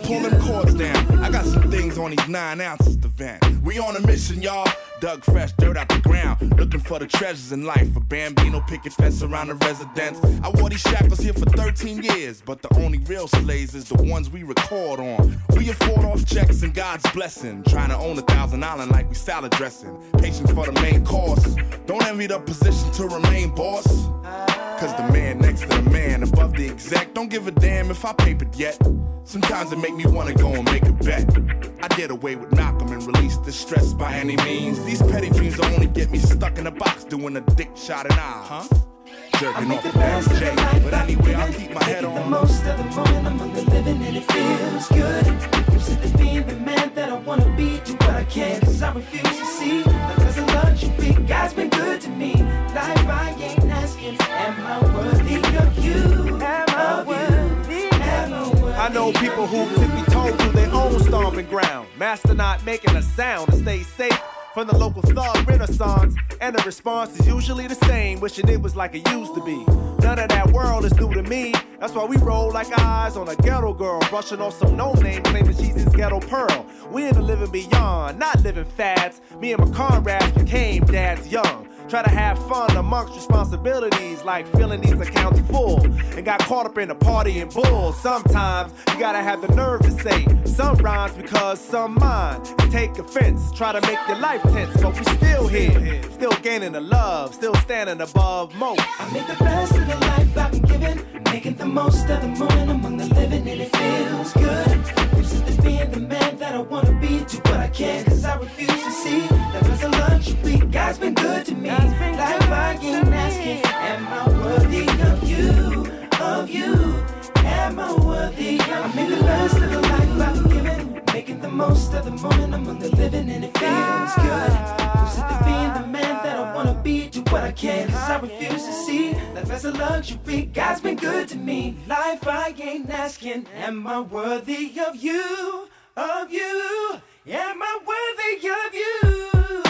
S12: pull them cords down. I got some things on these nine ounces to vent. We on a mission, y'all. Dug fresh dirt out the ground, looking for the treasures in life. A Bambino picket fence around the residence. I wore these shackles here for thirteen years, but the only real slaves is the ones we record on. We afford off checks and God's blessing, trying to own a thousand island like we salad dressing. Patience for the main course. Don't envy the position to remain boss. Cause the man next to the man above the exec don't give a damn if I papered yet. Sometimes it make me wanna go and make a bet. I did away with Malcolm and release the stress by any means. These petty dreams will only get me stuck in a box doing a dick shot and eye, huh? Jerking off the Mary J. But anyway, I'll keep my head on.
S13: The most of the moment among the living and it feels good. I'm sick of being the man that I wanna be. Do what I can cause I refuse to see. Because I love you, big God's been good to me. Life I ain't asking, am I worthy of you? Am I worthy? Am I worthy?
S6: I know people who tippy toed to their own stomping ground. Master not making a sound to stay safe from the local thug renaissance. And the response is usually the same, wishing it was like it used to be. None of that world is new to me. That's why we roll like eyes on a ghetto girl, brushing off some no-name, claiming she's his ghetto pearl. We in the living beyond, not living fads. Me and my comrades became dads young. Try to have fun amongst responsibilities like filling these accounts full. And got caught up in the party and bull. Sometimes you gotta have the nerve to say some rhymes because some mind. And take offense, try to make your life tense. But we still here, still gaining the love, still standing above most.
S13: I make the best of the life I've been given, making the most of the moment among the living and it feels good. I'm sick of being the man that I wanna be. Do what I can cause I refuse to see that there's a luxury. God's been good to me. Life I ain't asking, am I worthy of you, of you? Am I worthy of you? I make the best of the life I've been given, making the most of the moment among the living and it feels good. I'm sick of being the man that I wanna be. Do what I can cause I refuse to see that there's a luxury. God's been good to me. Life I ain't asking, am I worthy of you, of you? Am I worthy of you?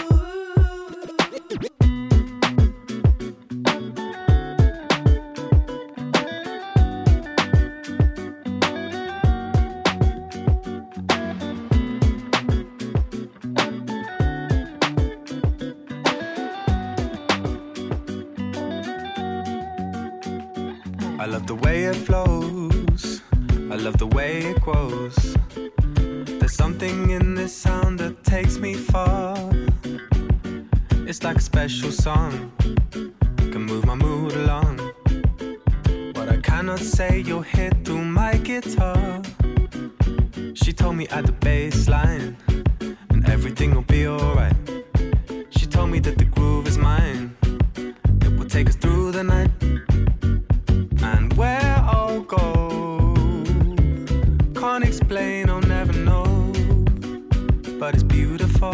S15: I love the way it flows, I love the way it grows. There's something in this sound that takes me far. It's like a special song, can move my mood along. What I cannot say you'll hear through my guitar. She told me at the bass line, and everything will be alright. She told me that the groove is mine, it will take us through the night. And where I'll go, can't explain, I'll never know. But it's beautiful.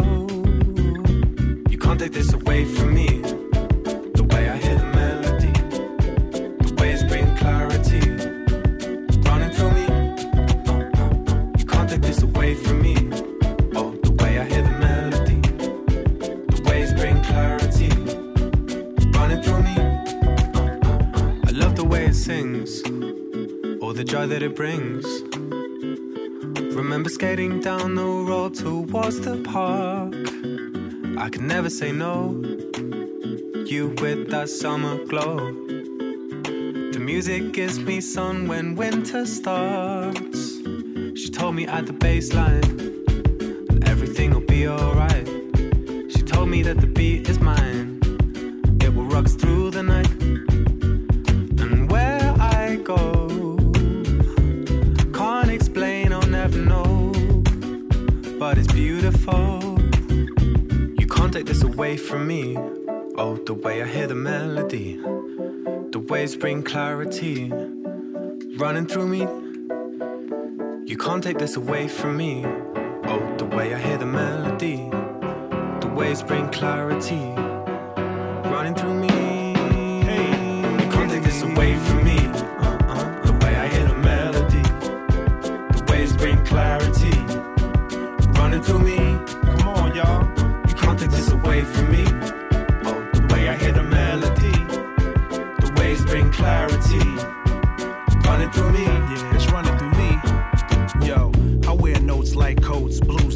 S15: You can't take this away from me. The way I hear the melody, the way it's bringing clarity, running through me. Uh, uh, uh. You can't take this away from me. Oh, the way I hear the melody, the way it's bringing clarity, running through me. I love the way it sings, all the joy that it brings. Remember skating down the road towards the park. I could never say no, you with that summer glow. The music gives me sun when winter starts. She told me at the baseline that everything will be alright. She told me that the beat is mine, it will rock us through the night. And where I go, can't explain, I'll never know. But it's beautiful. You can't take this away from me. Oh, the way I hear the melody, the waves bring clarity, running through me. You can't take this away from me. Oh, the way I hear the melody, the waves bring clarity, running through me. You can't take this away from me. Uh-uh. The way I hear the melody, the waves bring clarity, running through me. Come on, y'all. You can't take this away from me. Oh, the way I hear the melody, the waves bring clarity, running through me.
S6: Yeah, it's running through me. Yo,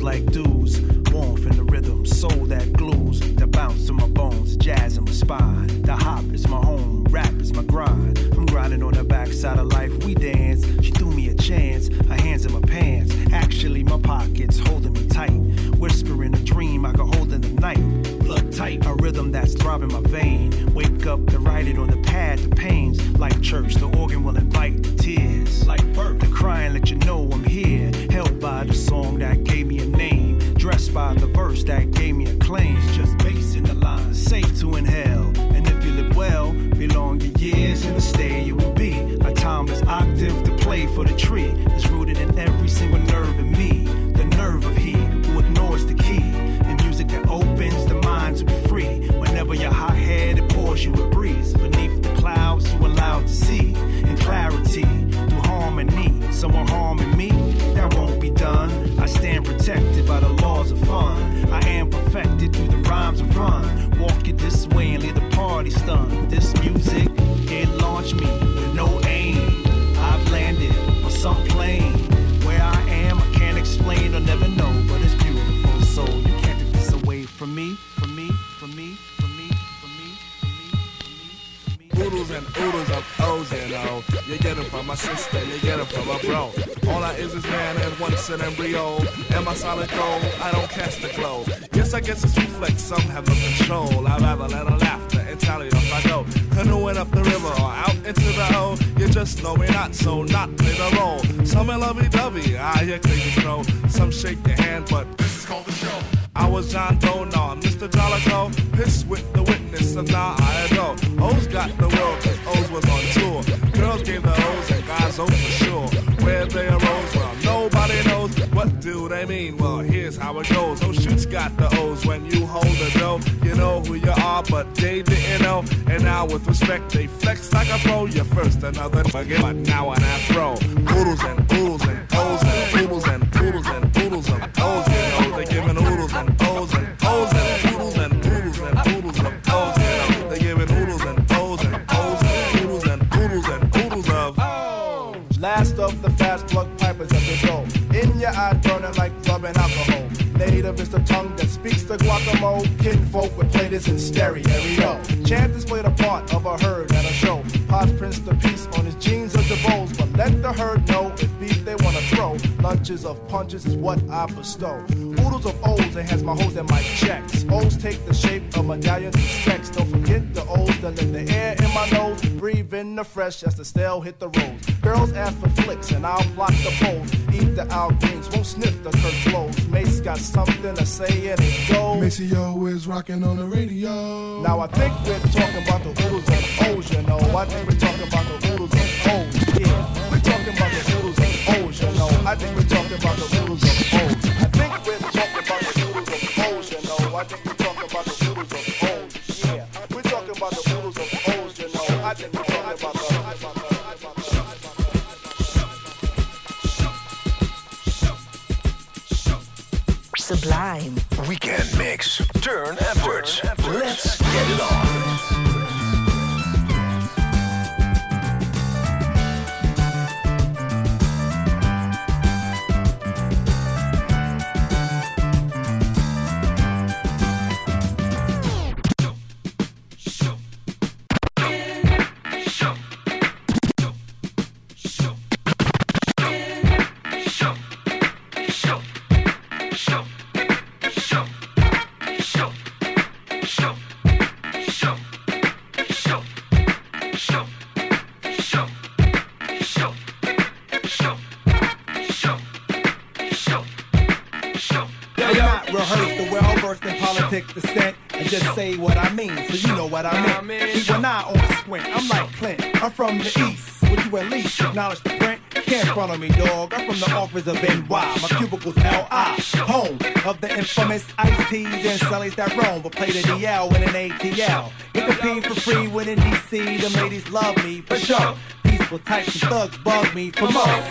S6: like dudes. Warmth in the rhythm, soul that glues. The bounce to my bones, jazz in my spine. The hop is my home, rap is my grind. I'm grinding on the backside of life, we dance. She threw me a chance, her hands in my pants. Actually, my pockets holding me tight. Whispering a dream I could hold in the night. Blood tight, a rhythm that's throbbing my vein. Wake up to write it on the pad, the pains. Like church, the organ will invite the tears. Like birth, the crying let you know I'm here. Held by the song that gave me a name. Dressed by the verse that gave me a claim. It's just bass in the line, safe to inhale. And if you live well, belong your years in the stay you will be. A timeless octave to play for the tree. It's rooted in every single nerve in me. The nerve of he who ignores the key. In music that opens the mind to be free. Whenever your hot head, it pours you a breeze. Beneath the clouds you allowed to see. In clarity, through harmony. Someone harming me, that won't be done. I stand protected by the laws of fun. I am perfected through the rhymes of run. Walk it this way and leave the party stunned. This music, it launched me with no aim. I've landed on some plane. Where I am, I can't explain or never know. But it's beautiful, so you can't take this away from me, from me, from me, from me, from me, from me, from me, from me.
S5: Oodles and oodles of O's, you know. You get them from my sister, you get them from my bro. All I is is man and once an embryo. Am I solid gold? I don't cast the glow. Yes, I guess it's reflex, some have no control. I'd rather let her laughter and tally off I go. Canoeing up the river or out into the O. You just know we're not, so not play the role. Some are lovey-dovey, I hear crazy crow. Some shake your hand, but this is called the show. I was John Doe, nah, Mister Jollico. Pissed with the witness, and now I know. O's got the world, cause O's was on tour. Girls gave the O's and guys O for sure. Where they arose, well, nobody knows. What do they mean? Well, here's how it goes. Those shoots got the O's when you hold the dough. You know who you are, but they didn't know. And now with respect, they flex like a pro. You're first, another forget, but now an afro. Oodles and oodles and O's and oodles and oodles and oodles of O's. You know, they giving oodles and O's and O's and oodles and oodles and oodles of O's. You know, they giving oodles and O's and O's and oodles and oodles and oodles of O's.
S6: Last of the fast plug pipers at the door. In your eye burning like rubbing alcohol. Native is the tongue that speaks the guacamole. Kinfolk would play this in stereo. Chanters played a part of a herd at a show. Pots Prince the piece on his jeans of the bowls. But let the herd know if beef they wanna throw. Lunches of punches is what I bestow. Oodles of O's enhance my hoes and my checks. O's take the shape of medallions and specs. Don't forget the O's that let the air in my nose. Breathe in the fresh as the stale hit the roads. Girls ask for flicks and I'll block the poles. Eat the out greens, won't sniff the Kurt flows. Mace got something to say and it goes.
S17: Maceo is rocking on the radio.
S6: Now I think we're talking about the oodles of O's, you know. I think we're talking about the oodles of O's, yeah. We're talking about the oodles of O's, you know. I think we're talking about the oodles of O's. I think we're talking about the oodles of O's, you know. I think we're talking about the oodles of O's, yeah. We're talking about the oodles of O's, you know. I think we're talking about the
S3: Sublime Weekend Mix. Turn Edwards. Let's get it on.
S6: Descent and just say what I mean, so you know what I mean. Even I on a sprint, I'm like Clint. I'm from the east. Would you at least acknowledge the print? Can't front on me, dog. I'm from the office of N Y. My cubicle's L I, home of the infamous Ice T's and Sullies that roam, but play the D L in an A T L. You compete for free when in D C. The ladies love me for sure. Peaceful types and thugs bug me for more. Increase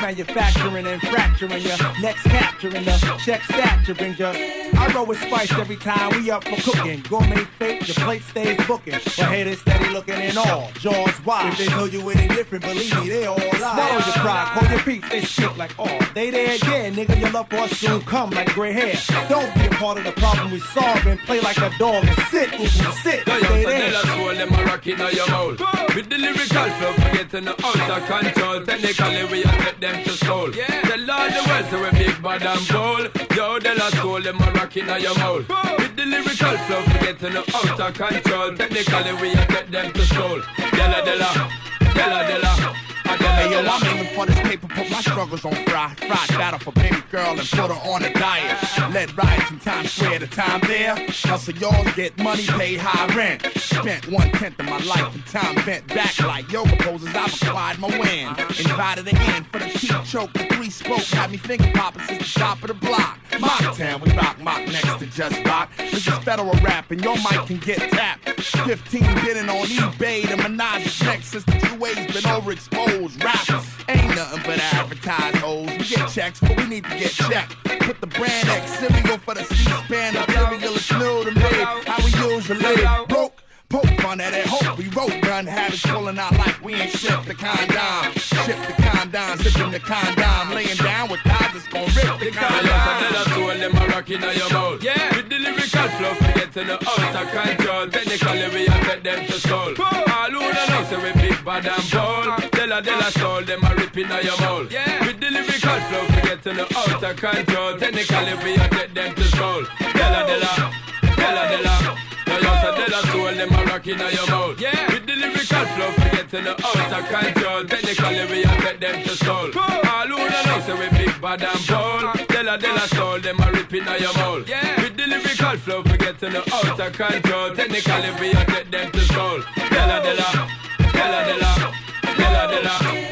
S6: manufacturing and fracturing your next capturing the check stature brings you. I roll with spice every time we up for cooking. Gourmet fake, the plate stays booking. But haters steady looking in all, jaws wide. If they tell you any different, believe me, they all lie. Swallow your pride, call your peace, they speak like all. They there again, nigga, your love for us soon come like gray hair. Don't be a part of the problem we solve and play like a dog and sit, ooh, sit,
S18: Yo, yo,
S6: stay
S18: so
S6: there.
S18: tell us all them a rock in your mouth. With the lyrical flow, forgetting the out of control. Technically, we are take them to soul. Yeah. Tell all the world so we big bad and bold. Yo, tell us all them a rock in your mouth. With the lyrical flow, forgetting the out of control. Technically, we are take them to soul. Della, della, della, della.
S19: Hey yo, I'm aiming for this paper, put my struggles on fry. Fried battle for baby girl and put her on a diet. Led riots in Times Square, the time there. Hustle y'all get money, pay high rent. Spent one tenth of my life in time bent back like yoga poses. I've acquired my win. Invited again for the teeth choke, the three spoke. Had me finger popping since the top of the block. Mocktown, we rock mock next to just rock. This is federal rap and your mic can get tapped. fifteen bidding on eBay, the menage is next since the two ways been overexposed. Rappers ain't nothing but advertised hoes. We get checks, but we need to get checked. Put the brand X cereal for the C-SPAN. The cereal is new to me. How we usually broke. Poke fun at it, hope we wrote gun habits pulling out like we ain't shipped the condom. Ship the condom, sipping the condom, laying down with thighs that's gon' rip the condom.
S18: Tell us all them a rock in your mouth. Yeah. With the lyrical flow, forgetting the out of control. Technically, we are take them to soul. All who don't know, say we big bad and bold. Della, della, soul, them a rip in your mouth. Yeah. With the lyrical flow, forgetting the out of control. Technically, we are take them to soul. Della, della, della, della. Yo, yo, so tell us all them a rock in your mouth. Yeah. With the lyrical flow, forgetting the out of control. Technically, we are take them to soul. All who don't know, say we big bad and bold. Della, della, soul, them a rip in your mouth. Yeah. With the lyrical flow, forgetting the out of control. Technically, we are take them to soul. Della, della, della, della, della, della.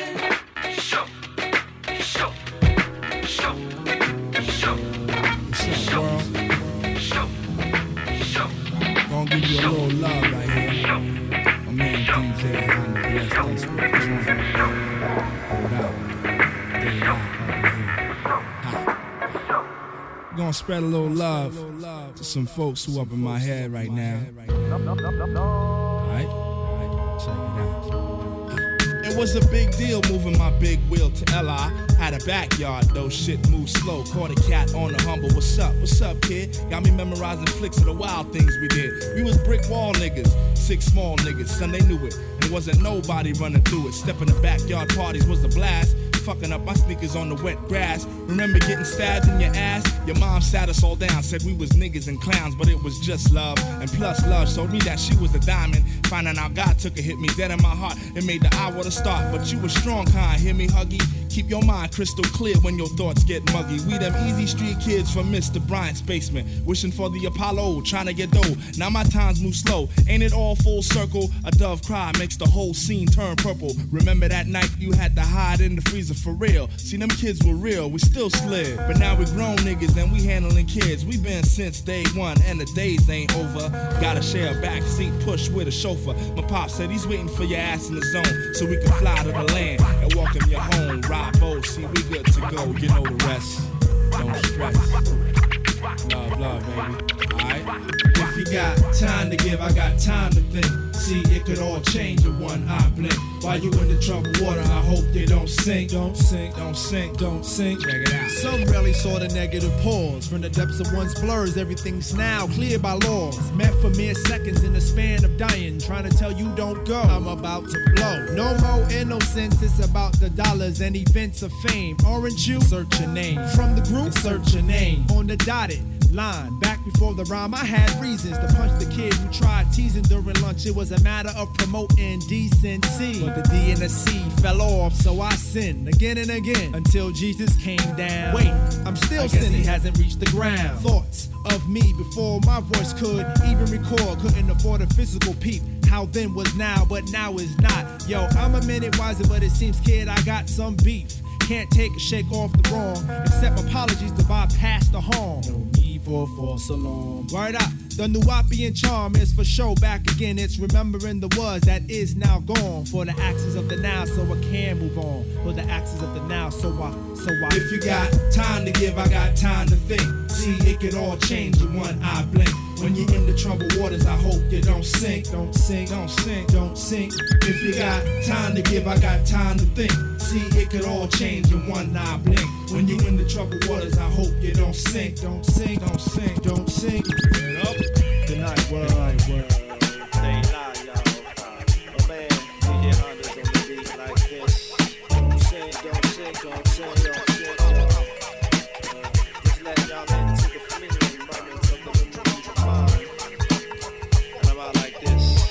S20: Gonna give you a little love right here. My man D J on the blessed us with the joint. Hold out. They lock up in here. Ha. Gonna spread a little love to some folks who up in my head right now. Alright? Alright, check it out. It was a big deal moving my big wheel to L I. Had a backyard, though shit moved slow. Caught a cat on the humble. What's up? What's up, kid? Got me memorizing flicks of the wild things we did. We was brick wall niggas, six small niggas. Son, they knew it. And wasn't nobody running through it. Stepping the backyard parties was a blast. Fucking up my sneakers on the wet grass. Remember getting stabbed in your ass? Your mom sat us all down, said we was niggas and clowns, but it was just love. And plus love showed me that she was a diamond. Finding out God took a hit me dead in my heart. It made the hour to start, but you was strong, kind. Hear me, Huggy? Keep your mind crystal clear when your thoughts get muggy. We them easy street kids from Mister Bryant's basement. Wishing for the Apollo, trying to get dough. Now my times move slow. Ain't it all full circle? A dove cry makes the whole scene turn purple. Remember that night you had to hide in the freezer for real. See, them kids were real, we still slid. But now we grown niggas and we handling kids. We been since day one and the days ain't over. Gotta share a back seat, push with a chauffeur. My pop said he's waiting for your ass in the zone so we can fly to the land and welcome you home. Ride boat, see we good to go, you know the rest. Don't stress. Love, love, baby. Alright? If you got time to give, I got time to think. See, it could all change in one eye blink. While you in the troubled water, I hope they don't sink. Don't sink, don't sink, don't sink. Check it out.
S22: Some rarely saw the negative pause. From the depths of one's blurs, everything's now clear by laws. Meant for mere seconds in the span of dying. Trying to tell you don't go, I'm about to blow. No more innocence, it's about the dollars and events of fame. Aren't you? Search your name. From the group, search your name. On the dotted line, back before the rhyme, I had reasons to punch the kid who tried teasing during lunch. It was a matter of promoting decency. But the D and the C fell off, so I sinned again and again until Jesus came down. Wait, I'm still sinning. He hasn't reached the ground. Thoughts of me before my voice could even record. Couldn't afford a physical peep. How then was now, but now is not. Yo, I'm a minute wiser, but it seems, kid, I got some beef. Can't take a shake off the wrong. Accept apologies to bypass the harm. No need for false alarm. Word up, the Nuwapian charm is for show back again. It's remembering the was that is now gone. For the axis of the now, so I can move on. For the axis of the now, so I, so I. If you got time to give, I got time to think. See, it could all change in one eye blink. When you're in the troubled waters, I hope you don't sink, don't sink, don't sink, don't sink. If you got time to give, I got time to think. See, it could all change in one eye blink. When you're in the troubled waters, I hope you don't sink, don't sink, don't sink, don't sink. Good night, word, good night, word.
S6: Stay live, y'all. Oh man, D J Honda's on the beat like this. Don't sink, don't sink, don't sink, don't sink, y'all. Uh, just let y'all into the fleeting moments of the memories of mine. And I'm out like this.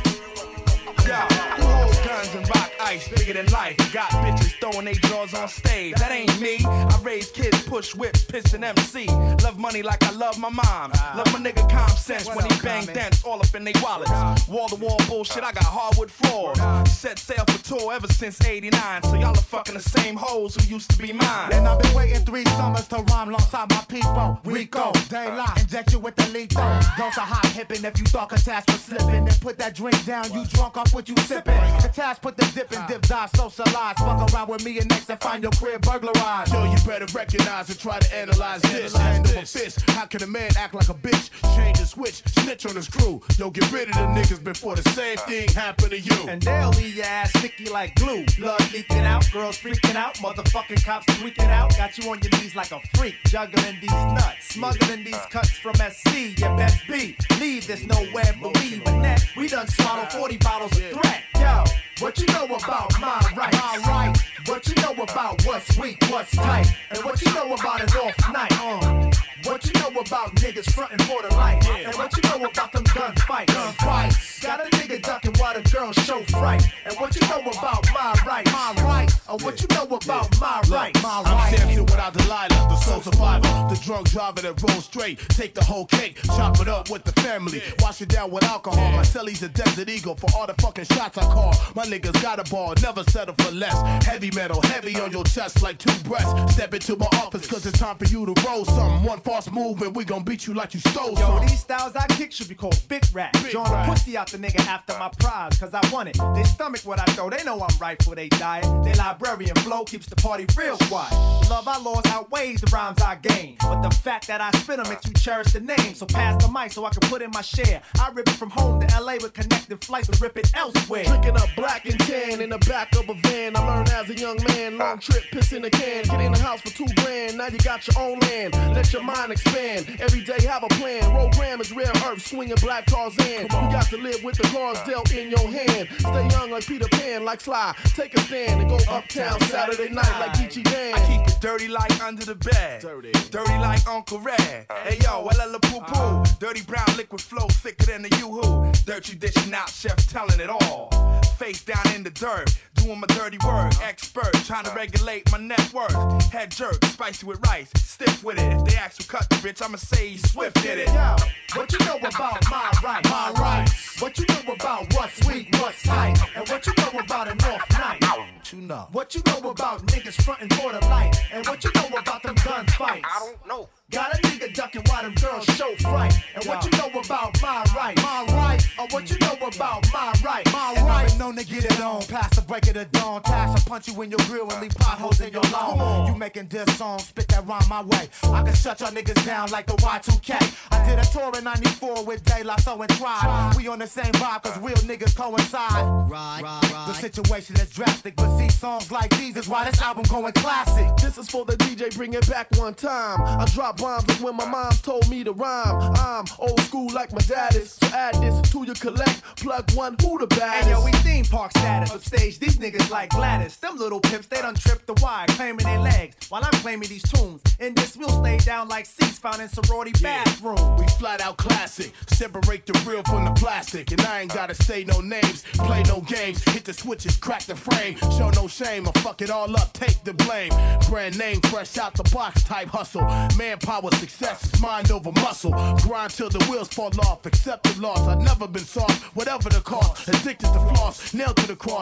S19: Yo, who holds guns and rock ice bigger than life? Got bitches throwing they drawers on stage. That ain't me. I raise kids, push whips, piss and M C. Love money like I love my mom. Love my nigga common sense when he bang dents all up in they wallets. Wall to wall bullshit, I got hardwood floors. Set sail for tour ever since eighty-nine. So y'all are fucking the same hoes who used to be mine.
S1: And I've been waiting three summers to rhyme alongside my people. Rico, daylight, inject you with the lethal. Dose of hot hippin' if you thought Catas was slipping. Then put that drink down, you drunk off what you sippin'. Catas put the dip in, dip, die, socialize. Fuck around with me and next and find your crib burglarized.
S14: Yo, you better recognize and try to analyze this. Handle a fist. How can a man act like a bitch? Change the switch, snitch on his crew. Yo, get rid of the niggas before the same thing happen to you.
S6: And they'll leave your ass sticky like glue. Blood leaking out, girls freaking out, motherfucking cops tweaking out. Got you on your knees like a freak, juggling these nuts, smuggling these cuts from S C. You best be, leave this nowhere believe in that. We done swallowed forty bottles of threat. Yo, what you know about my right? My right. What you know about what's weak, what's tight, and what you know about an off night. Uh. What you know about niggas frontin' for the light, and what you know about them gunfights. Gunfights. Got a nigga ducking while the girls show fright, and what you know about my right, my right, or what you know about my right, my right.
S14: I'm Samson without Delilah, the soul survivor, the drunk driver that rolls straight. Take the whole cake, chop it up with the family, wash it down with alcohol. My celly's a desert eagle for all the fucking shots I call. My niggas got a ball, never settle for less. Heavy metal, heavy on your chest like two breasts. Step into my office cause it's time for you to roll something. One false move and we gon' beat you like you stole
S6: Yo,
S14: something.
S6: these styles I kick should be called big rap. Drawing a pussy out the nigga after my prize, cause I want it. They stomach what I throw, they know I'm right for they diet. They librarian flow keeps the party real quiet. The love I lost outweighs the rhymes I gain, but the fact that I spit them makes you cherish the name. So pass the mic so I can put in my share. I rip it from home to L A with connected flights to rip it elsewhere.
S14: Drinking up black and tan in the back of a van. I learned as a young man, long trip, piss in a can. Get in the house for two grand, now you got your own land. Let your mind expand, every day have a plan. Program is rare earth, swinging black cars in. You got to live with the cards dealt in your hand. Stay young like Peter Pan, like Sly. Take a stand and go uptown Saturday night like Geechee Dan.
S19: I keep it dirty like under the bed. Dirty, dirty like Uncle Red. Hey yo, well poo poo. Dirty brown liquid flow thicker than the yoo-hoo. Dirty dishing out, chef telling it all. Face down in the dirt, doing my dirty work. Expert, trying to regulate my net worth. Head jerk, spicy with rice, stiff with it. If they ask who cut the bitch, I'ma say Swift did it.
S1: Yo, what you know about my right, my right? What you know about what's weak, what's tight, and what you know about an off night? What you know? What you know about niggas frontin' for the light, and what you know about them gunfights? I don't know. Got a nigga ducking while them girls show fright, and what you know about my right, my right, or what you know about my right, my and right. And known to get it on, past the break of the dawn, pass a punch you in your grill and leave potholes in your lawn. You making this song, spit that rhyme my way. I can shut y'all niggas down like the Y two K. I did a tour in ninety-four with De La Soul and Tribe. We on the same vibe cause real niggas coincide. Right, right, right. The situation is drastic, but see songs like these is why this album going classic.
S14: This is for the D J, bring it back one time. I drop rhymes like when my mom told me to rhyme. I'm old school like my dad is. So add this to your collect, plug one, who the baddest?
S6: Hey yo, we theme park status. Upstage, these niggas like Gladys. Them little pimps, they done tripped the wire, claiming their legs, while I'm claiming these tunes. In this, we'll stay down like seats found in sorority yeah. bathroom.
S14: We flat out classic, separate the real from the plastic. And I ain't gotta say no names, play no games. Hit the switches, crack the frame, show no shame. I fuck it all up, take the blame. Brand name, fresh out the box type hustle. Manpower, success is mind over muscle. Grind till the wheels fall off, accept the loss. I've never been soft, whatever the cost. Addicted to floss, nailed to the cross. It's time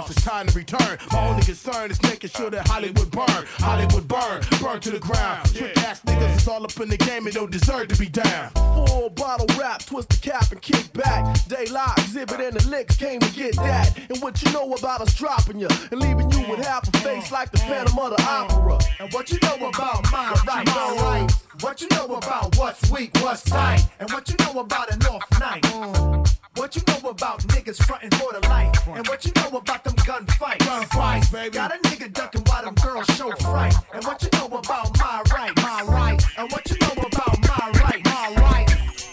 S17: trying to return. My only concern is making sure that Hollywood burn. Hollywood burn, burn to the ground. Trick ass niggas is all up in the game and don't deserve to be down.
S16: Full bottle rap, twist the cap and kick back. Daylight, exhibit and the licks came to get that. And what you know about us dropping you and leaving you with half a face like the Phantom of the Opera.
S1: And what you know about my right, my right. What you know about what's weak, what's tight. And what you know about an off night. What you know about niggas frontin' for the light. And what you know about them gunfights.
S17: Gunfights, baby.
S1: Got a nigga ducking while them girls show fright. And what you know about my right, my right. And what you know about my right, my right.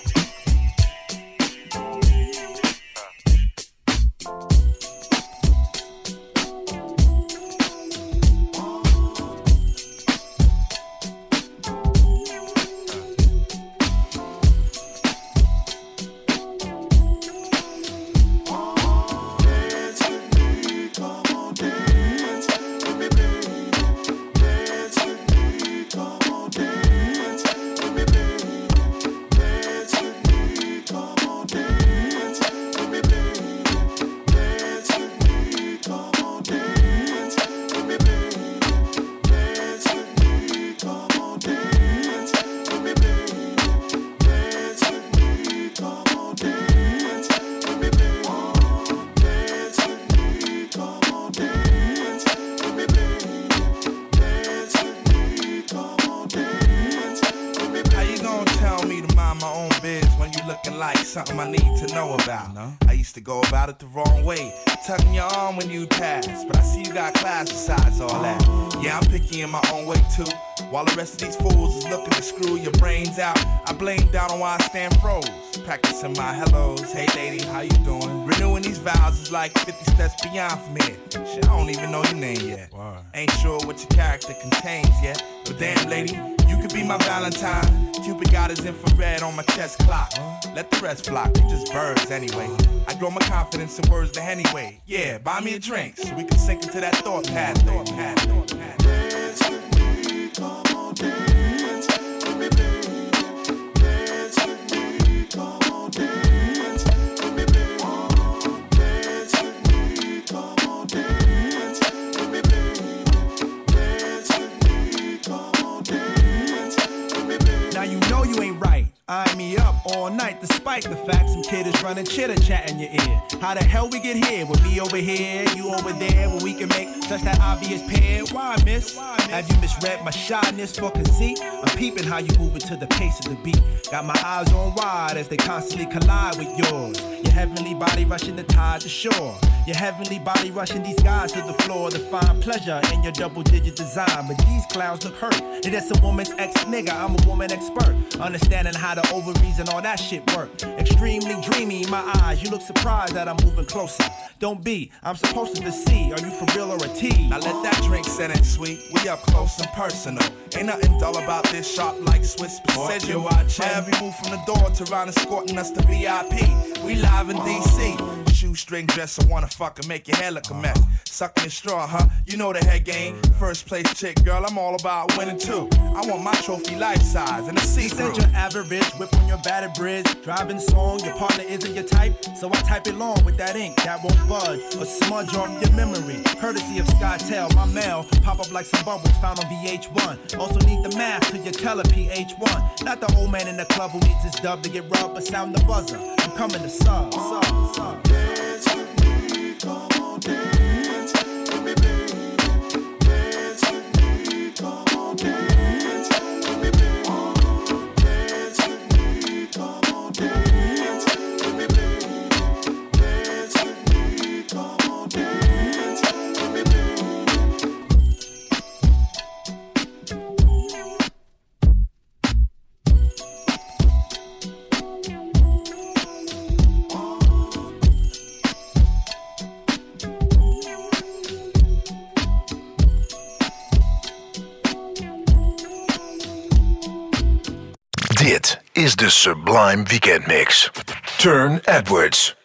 S19: Something I need to know about. No? I used to go about it the wrong way, tugging your arm when you pass. But I see you got class besides all that. Yeah, I'm picky in my own way too. While the rest of these fools is looking to screw your brains out, I blame down on why I stand froze. Practicing my hellos, hey lady, how you doing? Renewing these vows is like fifty steps beyond from here. Shit, I don't even know your name yet. Wow. Ain't sure what your character contains yet. But damn lady, you could be my Valentine. Cupid got his infrared on my chest clock. Let the rest flock, they just birds anyway. I grow my confidence in words to anyway. Yeah, buy me a drink so we can sink into that thought path. Thought path, thought path. Dance with me, come on, dance with me, baby. Dance with me, come on, dance with me, baby. Dance with me, come on, dance with me, baby. Dance with me, come on, dance with me, baby.
S16: Now you know you ain't right. Eye me up all night despite the fact some kid is running chitter chat in your ear. How the hell we get here with me over here, you over there, where we can make such that obvious pair? Why, miss? Have you misread my shyness for conceit? I'm peeping how you moving to the pace of the beat. Got my eyes on wide as they constantly collide with yours. Your heavenly body rushing the tide to shore. Your heavenly body rushing these guys to the floor to find pleasure in your double-digit design. But these clowns look hurt. It is a woman's ex-nigga, I'm a woman expert. Understanding how the ovaries and all that shit work. Extremely dreamy in my eyes. You look surprised that I'm moving closer. Don't be, I'm supposed to see. Are you for real or a tease?
S19: Now let that drink set in sweet. We up close and personal. Ain't nothing dull about this shop like Swiss precision. Every move from the door to round escorting us to V I P. We live in D C. Shoestring dresser wanna fuck and make your hair look a mess. Sucking your straw, huh? You know the head game. First place chick, girl, I'm all about winning too. I want my trophy life size and a see-through.
S16: You said your average, whip on your battered bridge. Driving song, your partner isn't your type. So I type it long with that ink that won't budge or smudge off your memory. Courtesy of SkyTel, my mail pop up like some bubbles found on V H one. Also need the math to your tele P H one. Not the old man in the club who needs his dub to get rubbed, but sound the buzzer. I'm coming to sub. sub, sub.
S19: Dance with me, come on, dance with me, baby. Dance with me, come on, dance with me, baby. Dance with me, come on, dance with me, baby. Dance with me, come on, dance with me, baby.
S3: Dit is de Sublime Weekend Mix. Turn Edwards.